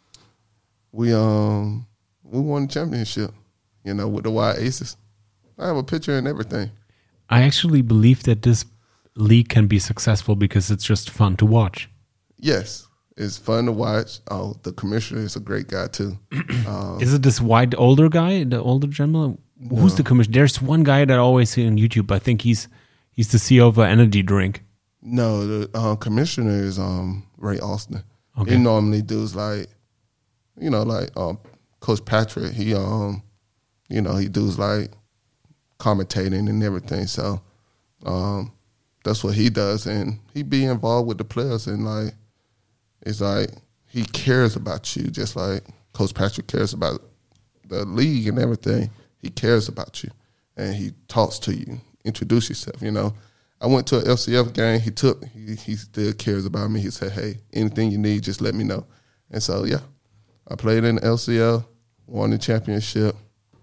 we um we won the championship, you know, with the Wild Aces. I have a picture and everything. I actually believe that this league can be successful because it's just fun to watch. Yes, it's fun to watch. Oh, the commissioner is a great guy too. Um, is it this white older guy, the older gentleman? Who's no. the commissioner? There's one guy that I always see on YouTube. I think he's he's the C E O of an energy drink. No, the uh, commissioner is um, Ray Austin. Okay. He normally does like, you know, like um, Coach Patrick. He um, you know, he does like commentating and everything. So um, that's what he does, and he be involved with the players, and like it's like he cares about you, just like Coach Patrick cares about the league and everything. He cares about you, and he talks to you, introduce yourself. You know, I went to an L C F game. He took, he, he still cares about me. He said, "Hey, anything you need, just let me know." And so, yeah, I played in the L C L, won the championship,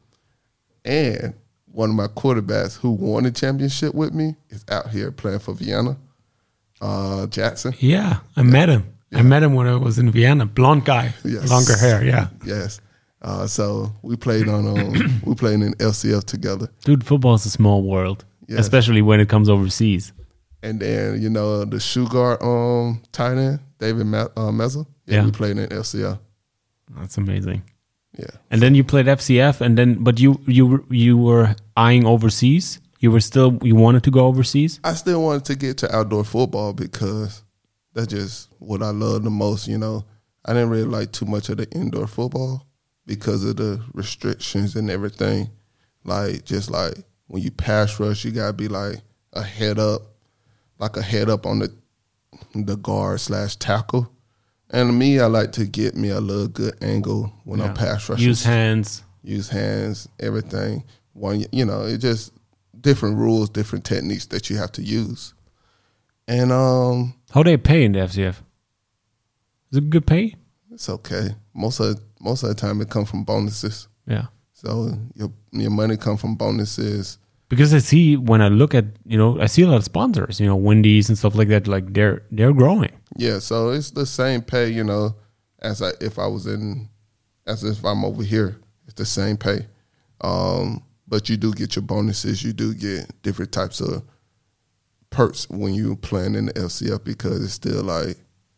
and one of my quarterbacks who won the championship with me is out here playing for Vienna, uh, Jackson. Yeah, I met him. Yeah. I met him when I was in Vienna. Blonde guy, yes. Longer hair. Yeah. Yes. Uh, so we played on um, we played in L C F together. Dude, football is a small world, yes. Especially when it comes overseas. And then you know the shoe guard um, tight end David Ma- uh, Mezza. Yeah, yeah, we played in L C F. That's amazing. Yeah. And then you played F C F, and then but you you you were eyeing overseas. You were still you wanted to go overseas. I still wanted to get to outdoor football because that's just what I love the most. You know, I didn't really like too much of the indoor football because of the restrictions and everything. Like, just like when you pass rush, you got to be like a head up, like a head up on the the guard slash tackle. And to me, I like to get me a little good angle when yeah. I'm pass rushing. Use hands. Use hands, everything. One, you know, it just different rules, different techniques that you have to use. And um, how they pay in the F C F? Is it good pay? It's okay. Most of most of the time, it comes from bonuses. Yeah. So your your money comes from bonuses. Because I see when I look at you know I see a lot of sponsors, you know, Wendy's and stuff like that. Like they're they're growing. Yeah. So it's the same pay, you know, as I, if I was in, as if I'm over here. It's the same pay, um, but you do get your bonuses. You do get different types of perks when you playing in the L C F because it's still like.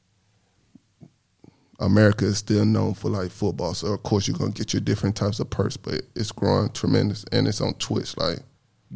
America is still known for like football, so of course you're gonna get your different types of perks, but it's growing tremendous, and it's on Twitch. Like, yeah,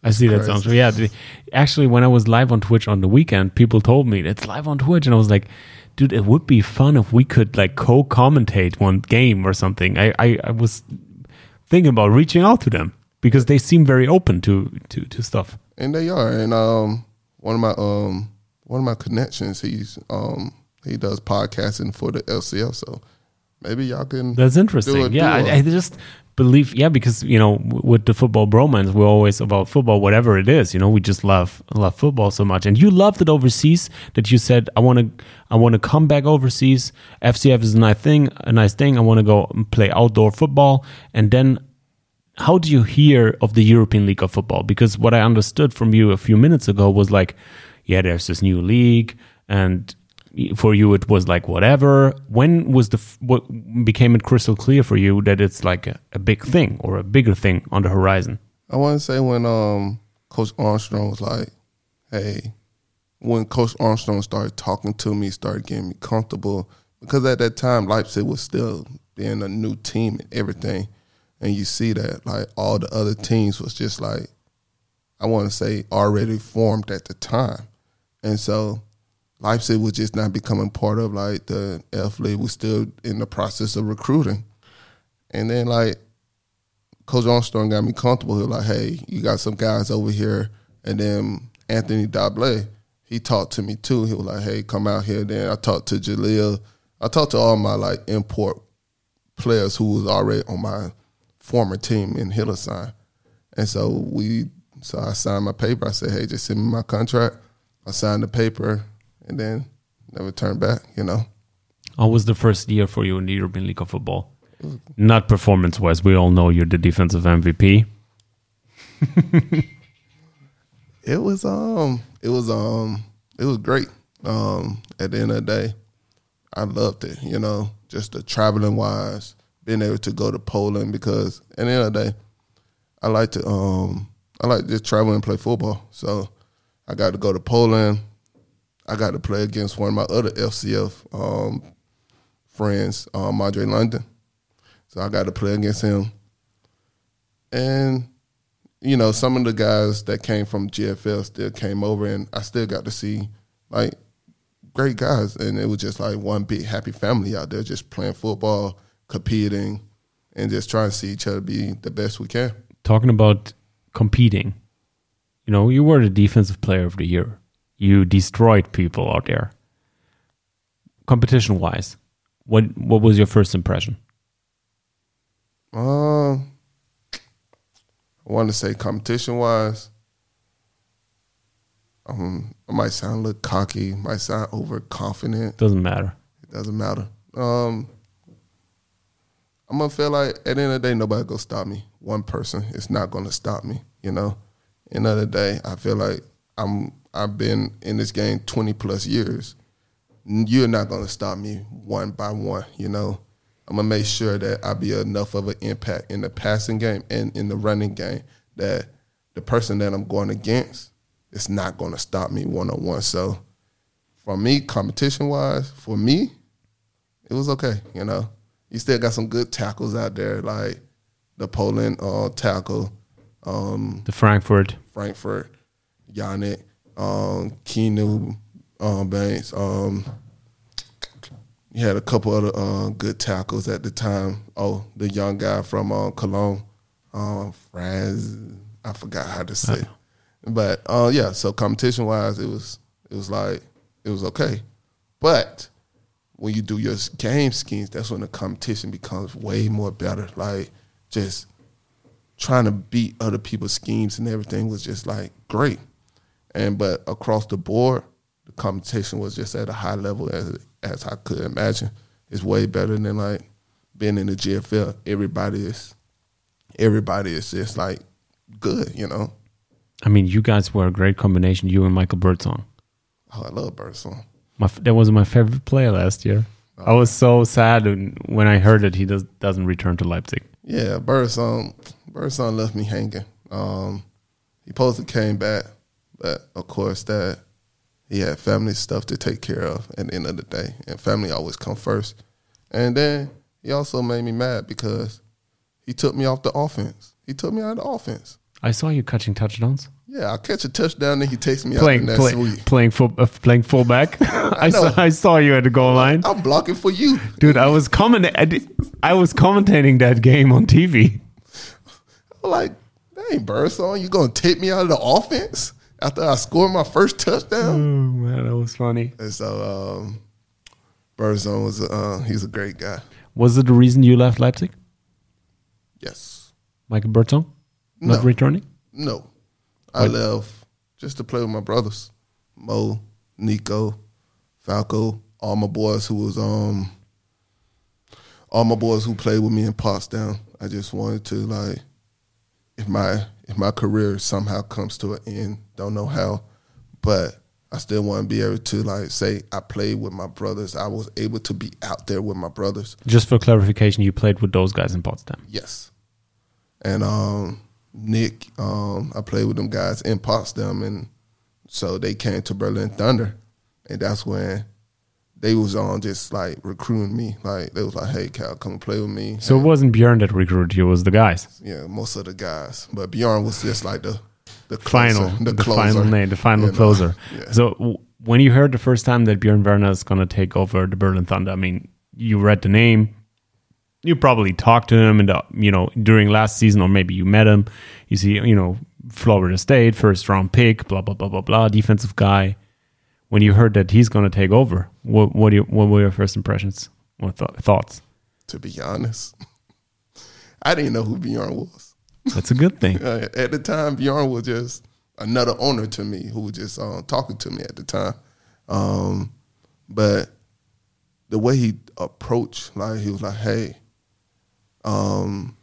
I see that sounds yeah. The, actually, when I was live on Twitch on the weekend, people told me it's live on Twitch, and I was like, dude, it would be fun if we could like co-commentate one game or something. I, I, I was thinking about reaching out to them because they seem very open to, to, to stuff. And they are. And um, one of my um one of my connections, he's um he does podcasting for the L C F, so maybe y'all can. That's interesting. Do a, yeah, do a, I, I just believe yeah because you know with the football bromance we're always about football, whatever it is. You know, we just love love football so much. And you loved it overseas that you said I want to I want to come back overseas. F C F is a nice thing. A nice thing. I want to go and play outdoor football. And then, how do you hear of the European League of Football? Because what I understood from you a few minutes ago was like, yeah, there's this new league, and for you it was like whatever. When was the what became it crystal clear for you that it's like a, a big thing or a bigger thing on the horizon? I want to say when um Coach Armstrong was like, hey, when Coach Armstrong started talking to me, started getting me comfortable, because at that time Leipzig was still being a new team and everything. And you see that, like, all the other teams was just, like, I want to say already formed at the time. And so Leipzig was just not becoming part of, like, the F League. We're still in the process of recruiting. And then, like, Coach Armstrong got me comfortable. He was like, hey, you got some guys over here. And then Anthony Dablé, he talked to me, too. He was like, hey, come out here. Then I talked to Jaleel. I talked to all my, like, import players who was already on my former team in Hildesheim. And so we, so I signed my paper. I said, hey, just send me my contract. I signed the paper and then never turned back, you know. How was the first year for you in the European League of Football? Not performance-wise. We all know you're the defensive M V P. It was um it was um it was great. Um at the end of the day, I loved it, you know, just the traveling wise. Being able to go to Poland, because at the end of the day, I like to um I like to just travel and play football. So I got to go to Poland. I got to play against one of my other F C F um, friends, um, Andre London. So I got to play against him. And, you know, some of the guys that came from G F L still came over, and I still got to see, like, great guys. And it was just like one big happy family out there just playing football, competing, and just trying to see each other be the best we can. Talking about competing, you know, you were the defensive player of the year. You destroyed people out there. Competition-wise, what what was your first impression? Uh, I want to say competition-wise, um, I might sound a little cocky, might sound overconfident. Doesn't matter. It doesn't matter. Um, I'm going to feel like at the end of the day, nobody going to stop me. One person is not going to stop me, you know. End of the day, I feel like I'm, I've been in this game twenty plus years. You're not going to stop me one by one, you know. I'm going to make sure that I be enough of an impact in the passing game and in the running game that the person that I'm going against is not going to stop me one-on-one. So for me, competition-wise, for me, it was okay, you know. You still got some good tackles out there, like the Poland uh, tackle. Um, the Frankfurt. Frankfurt, Yannick, um, Keanu um, Banks. Um, you had a couple other uh, good tackles at the time. Oh, the young guy from uh, Cologne, uh, Franz. I forgot how to say it. But, uh, yeah, so competition-wise, it was it was like, it was okay. But when you do your game schemes, that's when the competition becomes way more better. Like, just trying to beat other people's schemes and everything was just, like, great. And but across the board, the competition was just at a high level as as I could imagine. It's way better than, like, being in the G F L. Everybody is, everybody is just, like, good, you know. I mean, you guys were a great combination, you and Michael Birdsong. Oh, I love Birdsong. My, that was my favorite player last year. Oh. I was so sad when I heard that he does, doesn't return to Leipzig. Yeah, Birdsong, Birdsong left me hanging. Um, he supposed to came back, but of course that he had family stuff to take care of at the end of the day, and family always come first. And then he also made me mad because he took me off the offense. He took me out of the offense. I saw you catching touchdowns. Yeah, I'll catch a touchdown and he takes me playing, out, and that's play, sweet. Playing, full, uh, playing fullback. I, I saw, I saw you at the goal line. I'm blocking for you. Dude, I was comment- I, did, I was commentating that game on T V. I'm like, that ain't Birdsong. You going to take me out of the offense after I scored my first touchdown? Oh, man, that was funny. And so um, Birdsong was, uh, he's a great guy. Was it the reason you left Leipzig? Yes. Michael Birdsong? Not No. returning? No. I What? left just to play with my brothers. Mo, Nico, Falco, all my boys who was um all my boys who played with me in Potsdam. I just wanted to like if my if my career somehow comes to an end, don't know how, but I still want to be able to like say I played with my brothers. I was able to be out there with my brothers. Just for clarification, you played with those guys in Potsdam. Yes. And um Nick, um, I played with them guys in Potsdam, and so they came to Berlin Thunder, and that's when they was on just like recruiting me. Like they was like, "Hey, Cal, come and play with me." So and, it wasn't Björn that recruited you, it was the guys. yeah, most of the guys, but Bjorn was just like the the closer, Final, the, the closer, final name, the final you know? closer. Yeah. So w- when you heard the first time that Björn Werner is going to take over the Berlin Thunder, I mean, you read the name. You probably talked to him, and you know during last season, or maybe you met him. You see, you know, Florida State, first round pick, blah blah blah blah blah, defensive guy. When you heard that he's going to take over, what what, do you, what were your first impressions or th- thoughts? To be honest, I didn't know who Bjorn was. That's a good thing. Uh, at the time, Bjorn was just another owner to me who was just uh, talking to me at the time. Um, but the way he approached, like he was like, "Hey." Um,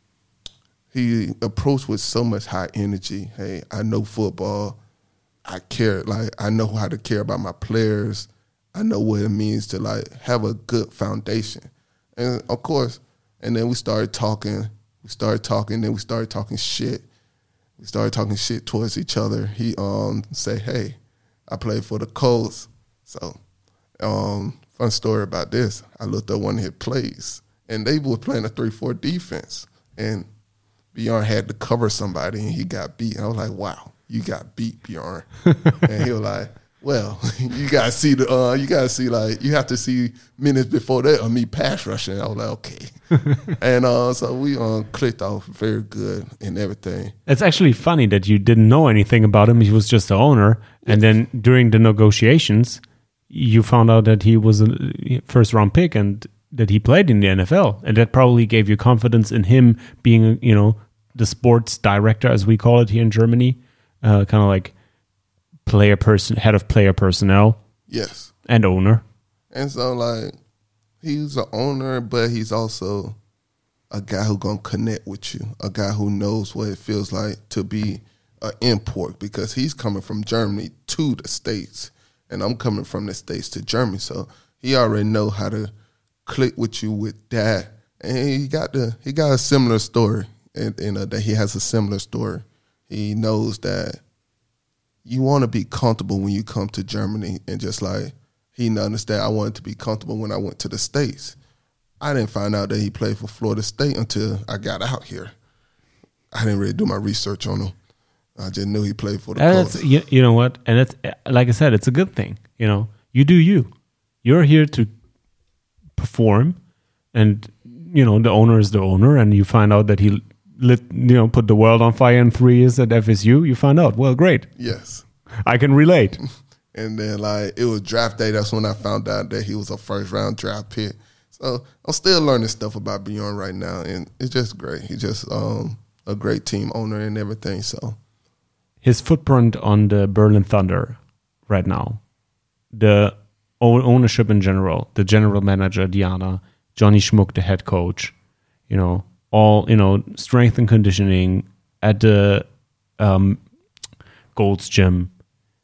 he approached with so much high energy. Hey, I know football. I care. Like I know how to care about my players. I know what it means to like have a good foundation. And of course, and then we started talking. We started talking. Then we started talking shit. We started talking shit towards each other. He um say, "Hey, I played for the Colts." So, um, fun story about this. I looked up one of his plays. And they were playing a three four defense. And Bjorn had to cover somebody, and he got beat. And I was like, wow, you got beat, Bjorn. And he was like, well, you got to see, the, uh, you got to see, like, you have to see minutes before that of me pass rushing. I was like, okay. And uh, so we uh, clicked off very good and everything. It's actually funny that you didn't know anything about him. He was just the owner. And then during the negotiations, you found out that he was a first round pick and that he played in the N F L, and that probably gave you confidence in him being, you know, the sports director, as we call it here in Germany, uh, kind of like player person, head of player personnel. Yes. And owner. And so, like, he's an owner, but he's also a guy who gonna connect with you, a guy who knows what it feels like to be an import, because he's coming from Germany to the States, and I'm coming from the States to Germany, so he already know how to click with you with that, and he got the he got a similar story, and, and uh, that he has a similar story. He knows that you want to be comfortable when you come to Germany, and just like he understand, I wanted to be comfortable when I went to the States. I didn't find out that he played for Florida State until I got out here. I didn't really do my research on him. I just knew he played for the Colts. That's, you, you know what? And it's like I said, it's a good thing. You know, you do you. You're here to perform, and you know the owner is the owner, and you find out that he lit, you know, put the world on fire in three years at F S U. You find out, well, great. Yes, I can relate. And then like it was draft day. That's when I found out that he was a first round draft pick. So I'm still learning stuff about Bjorn right now, and it's just great. He's just um, a great team owner and everything. So his footprint on the Berlin Thunder right now, the ownership in general, the general manager, Diana, Johnny Schmuck, the head coach, you know, all, you know, strength and conditioning at the um, Gold's Gym,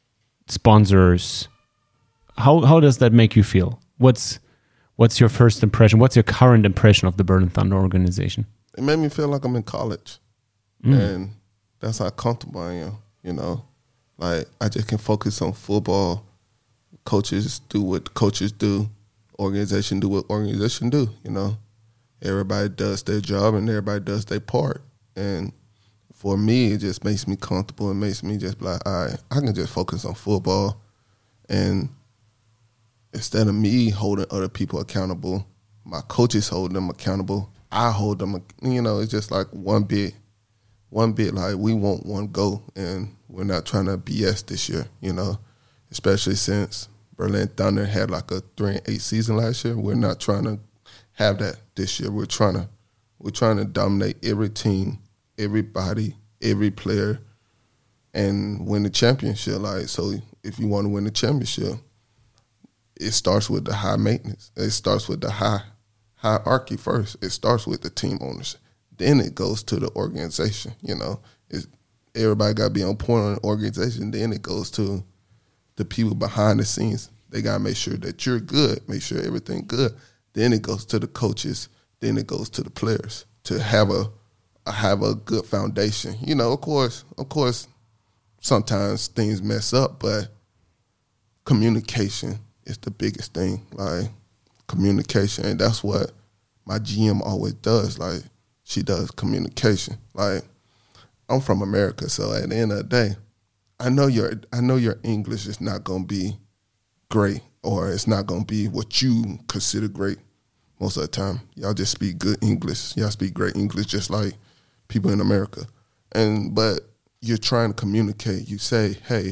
sponsors. How how does that make you feel? What's what's your first impression? What's your current impression of the Berlin Thunder organization? It made me feel like I'm in college. Mm. And that's how comfortable I am, you know. Like, I just can focus on football. Coaches do what coaches do. Organization do what organization do, you know. Everybody does their job and everybody does their part. And for me, it just makes me comfortable. It makes me just be like, all right, I can just focus on football. And instead of me holding other people accountable, my coaches hold them accountable. I hold them, you know, it's just like one bit, one bit like we want one goal, and we're not trying to B S this year, you know, especially since Berlin Thunder had like a three and eight season last year. We're not trying to have that this year. We're trying to, we're trying to dominate every team, everybody, every player, and win the championship. Like, so if you want to win the championship, it starts with the high maintenance. It starts with the high hierarchy first. It starts with the team owners. Then it goes to the organization. You know, it's, everybody got to be on point on the organization. Then it goes to the people behind the scenes. They got to make sure that you're good, make sure everything good. Then it goes to the coaches. Then it goes to the players to have a have a good foundation. You know, of course, of course, sometimes things mess up, but communication is the biggest thing. Like, communication, and that's what my G M always does. Like, she does communication. Like, I'm from America, so at the end of the day, I know your I know your English is not gonna be great, or it's not gonna be what you consider great most of the time. Y'all just speak good English. Y'all speak great English, just like people in America. And but you're trying to communicate. You say, hey,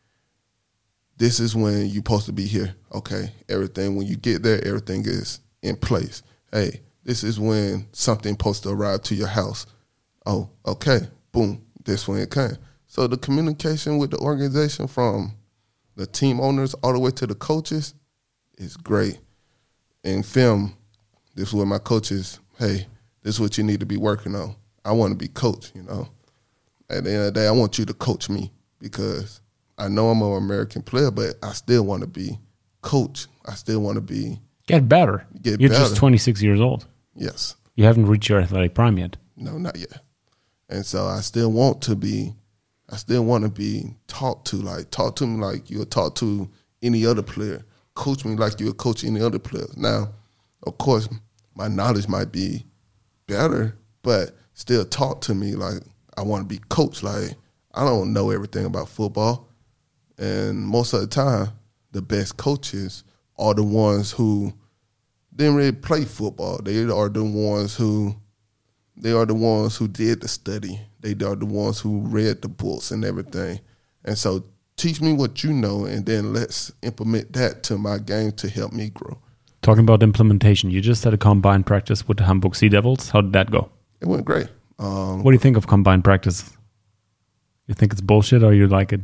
this is when you're supposed to be here. Okay, everything, when you get there, everything is in place. Hey, this is when something supposed to arrive to your house. Oh, okay, boom, this when it came. So the communication with the organization, from the team owners all the way to the coaches, is great. In film, this is what my coaches, hey, this is what you need to be working on. I want to be coached, you know. At the end of the day, I want you to coach me, because I know I'm an American player, but I still want to be coached. I still want to be get better. Get You're better. just twenty-six years old. Yes. You haven't reached your athletic prime yet. No, not yet. And so I still want to be, I still want to be taught to, like, talk to me like you would talk to any other player. Coach me like you would coach any other player. Now, of course, my knowledge might be better, but still talk to me like I want to be coached. Like, I don't know everything about football. And most of the time, the best coaches are the ones who didn't really play football. They are the ones who, they are the ones who did the study. They are the ones who read the books and everything. And so teach me what you know, and then let's implement that to my game to help me grow. Talking about implementation, you just had a combined practice with the Hamburg Sea Devils. How did that go? It went great. Um, what do you think of combined practice? You think it's bullshit, or you like it?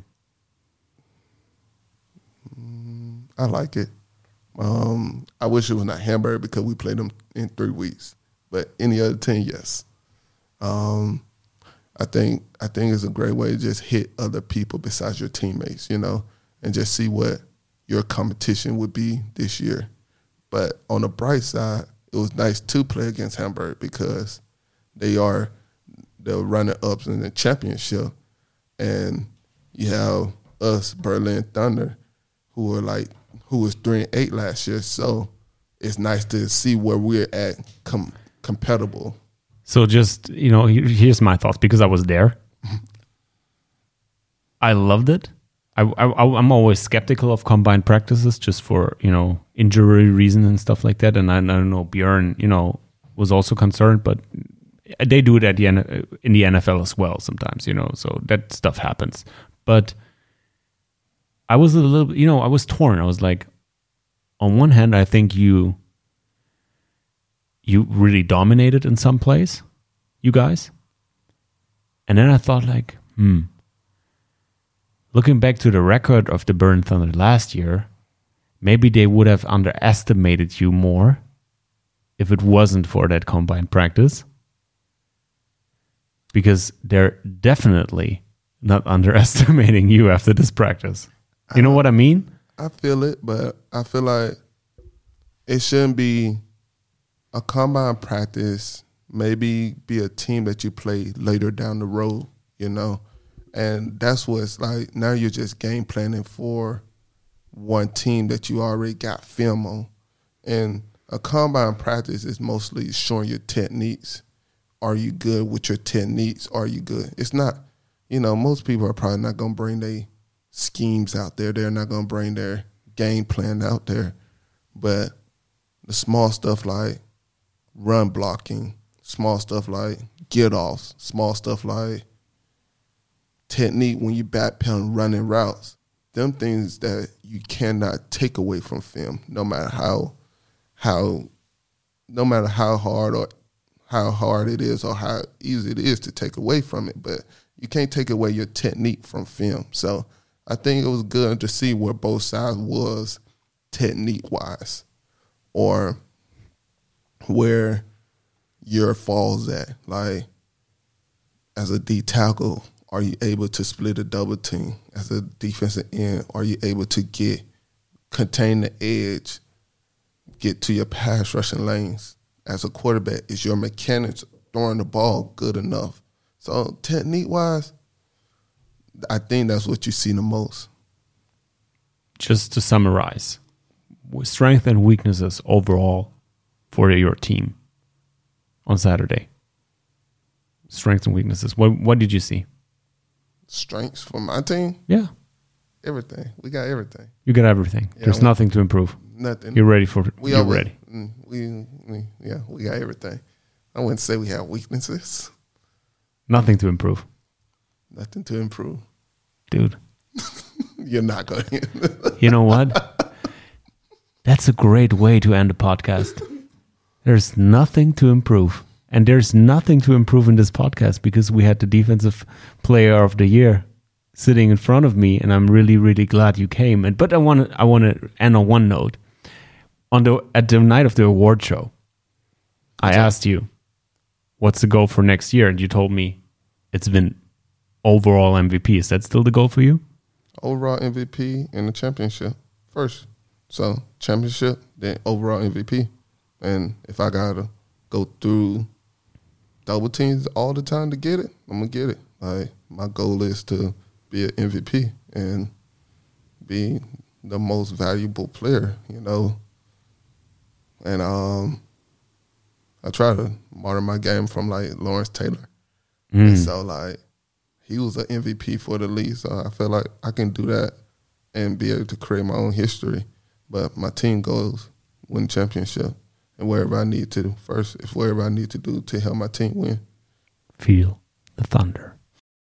I like it. Um, I wish it was not Hamburg, because we played them in three weeks. But any other team, yes. Um, I think I think it's a great way to just hit other people besides your teammates, you know, and just see what your competition would be this year. But on the bright side, it was nice to play against Hamburg, because they are the runner-ups in the championship, and you have us, Berlin Thunder, who were like who was three and eight last year. So it's nice to see where we're at com- compatible. So just, you know, here's my thoughts, because I was there. I loved it. I, I, I'm always skeptical of combined practices, just for, you know, injury reasons and stuff like that. And I, I don't know, Björn, you know, was also concerned, but they do it at the N- in the N F L as well sometimes, you know, so that stuff happens. But I was a little, you know, I was torn. I was like, on one hand, I think you you really dominated in some place, you guys. And then I thought, like, hmm, looking back to the record of the Berlin Thunder last year, maybe they would have underestimated you more if it wasn't for that combined practice. Because they're definitely not underestimating you after this practice. You know what I mean? I feel it, but I feel like it shouldn't be a combine practice. Maybe be a team that you play later down the road, you know? And that's what it's like. Now you're just game planning for one team that you already got film on. And a combine practice is mostly showing your techniques are you good with your techniques? Are you good? It's not, you know, most people are probably not going to bring their schemes out there. They're not going to bring their game plan out there. But the small stuff like run blocking, small stuff like get offs, small stuff like technique when you backpedal running routes, them things that you cannot take away from film, no matter how how no matter how hard or how hard it is or how easy it is to take away from it. But you can't take away your technique from film. So I think it was good to see where both sides was technique-wise, or where your falls at. Like, as a D tackle, are you able to split a double team? As a defensive end, are you able to get, contain the edge, get to your pass rushing lanes? As a quarterback, is your mechanics throwing the ball good enough? So technique-wise, I think that's what you see the most. Just to summarize, strengths and weaknesses overall for your team on Saturday. Strengths and weaknesses. What what did you see? Strengths for my team? Yeah. Everything. We got everything. You got everything. Yeah, There's we, nothing to improve. Nothing. You're ready for we you're always, ready. We, we yeah, we got everything. I wouldn't say we have weaknesses. Nothing to improve. Nothing to improve. Dude. You're not going to. You know what? That's a great way to end a podcast. There's nothing to improve. And there's nothing to improve in this podcast because we had the defensive player of the year sitting in front of me, and I'm really, really glad you came. And but I want to I want to end on one note. On the at the night of the award show, I asked you, "What's the goal for next year?" And you told me it's been overall M V P. Is that still the goal for you? Overall M V P and the championship first. So championship, then overall M V P. And if I gotta go through double teams all the time to get it, I'm gonna get it. Like, my goal is to be an M V P and be the most valuable player, you know. And um, I try to model my game from like Lawrence Taylor. Mm. And so like he was an M V P for the league, so I feel like I can do that and be able to create my own history. But my team goes win championship. And wherever I need to first, if wherever I need to do to help my team win. Feel the thunder.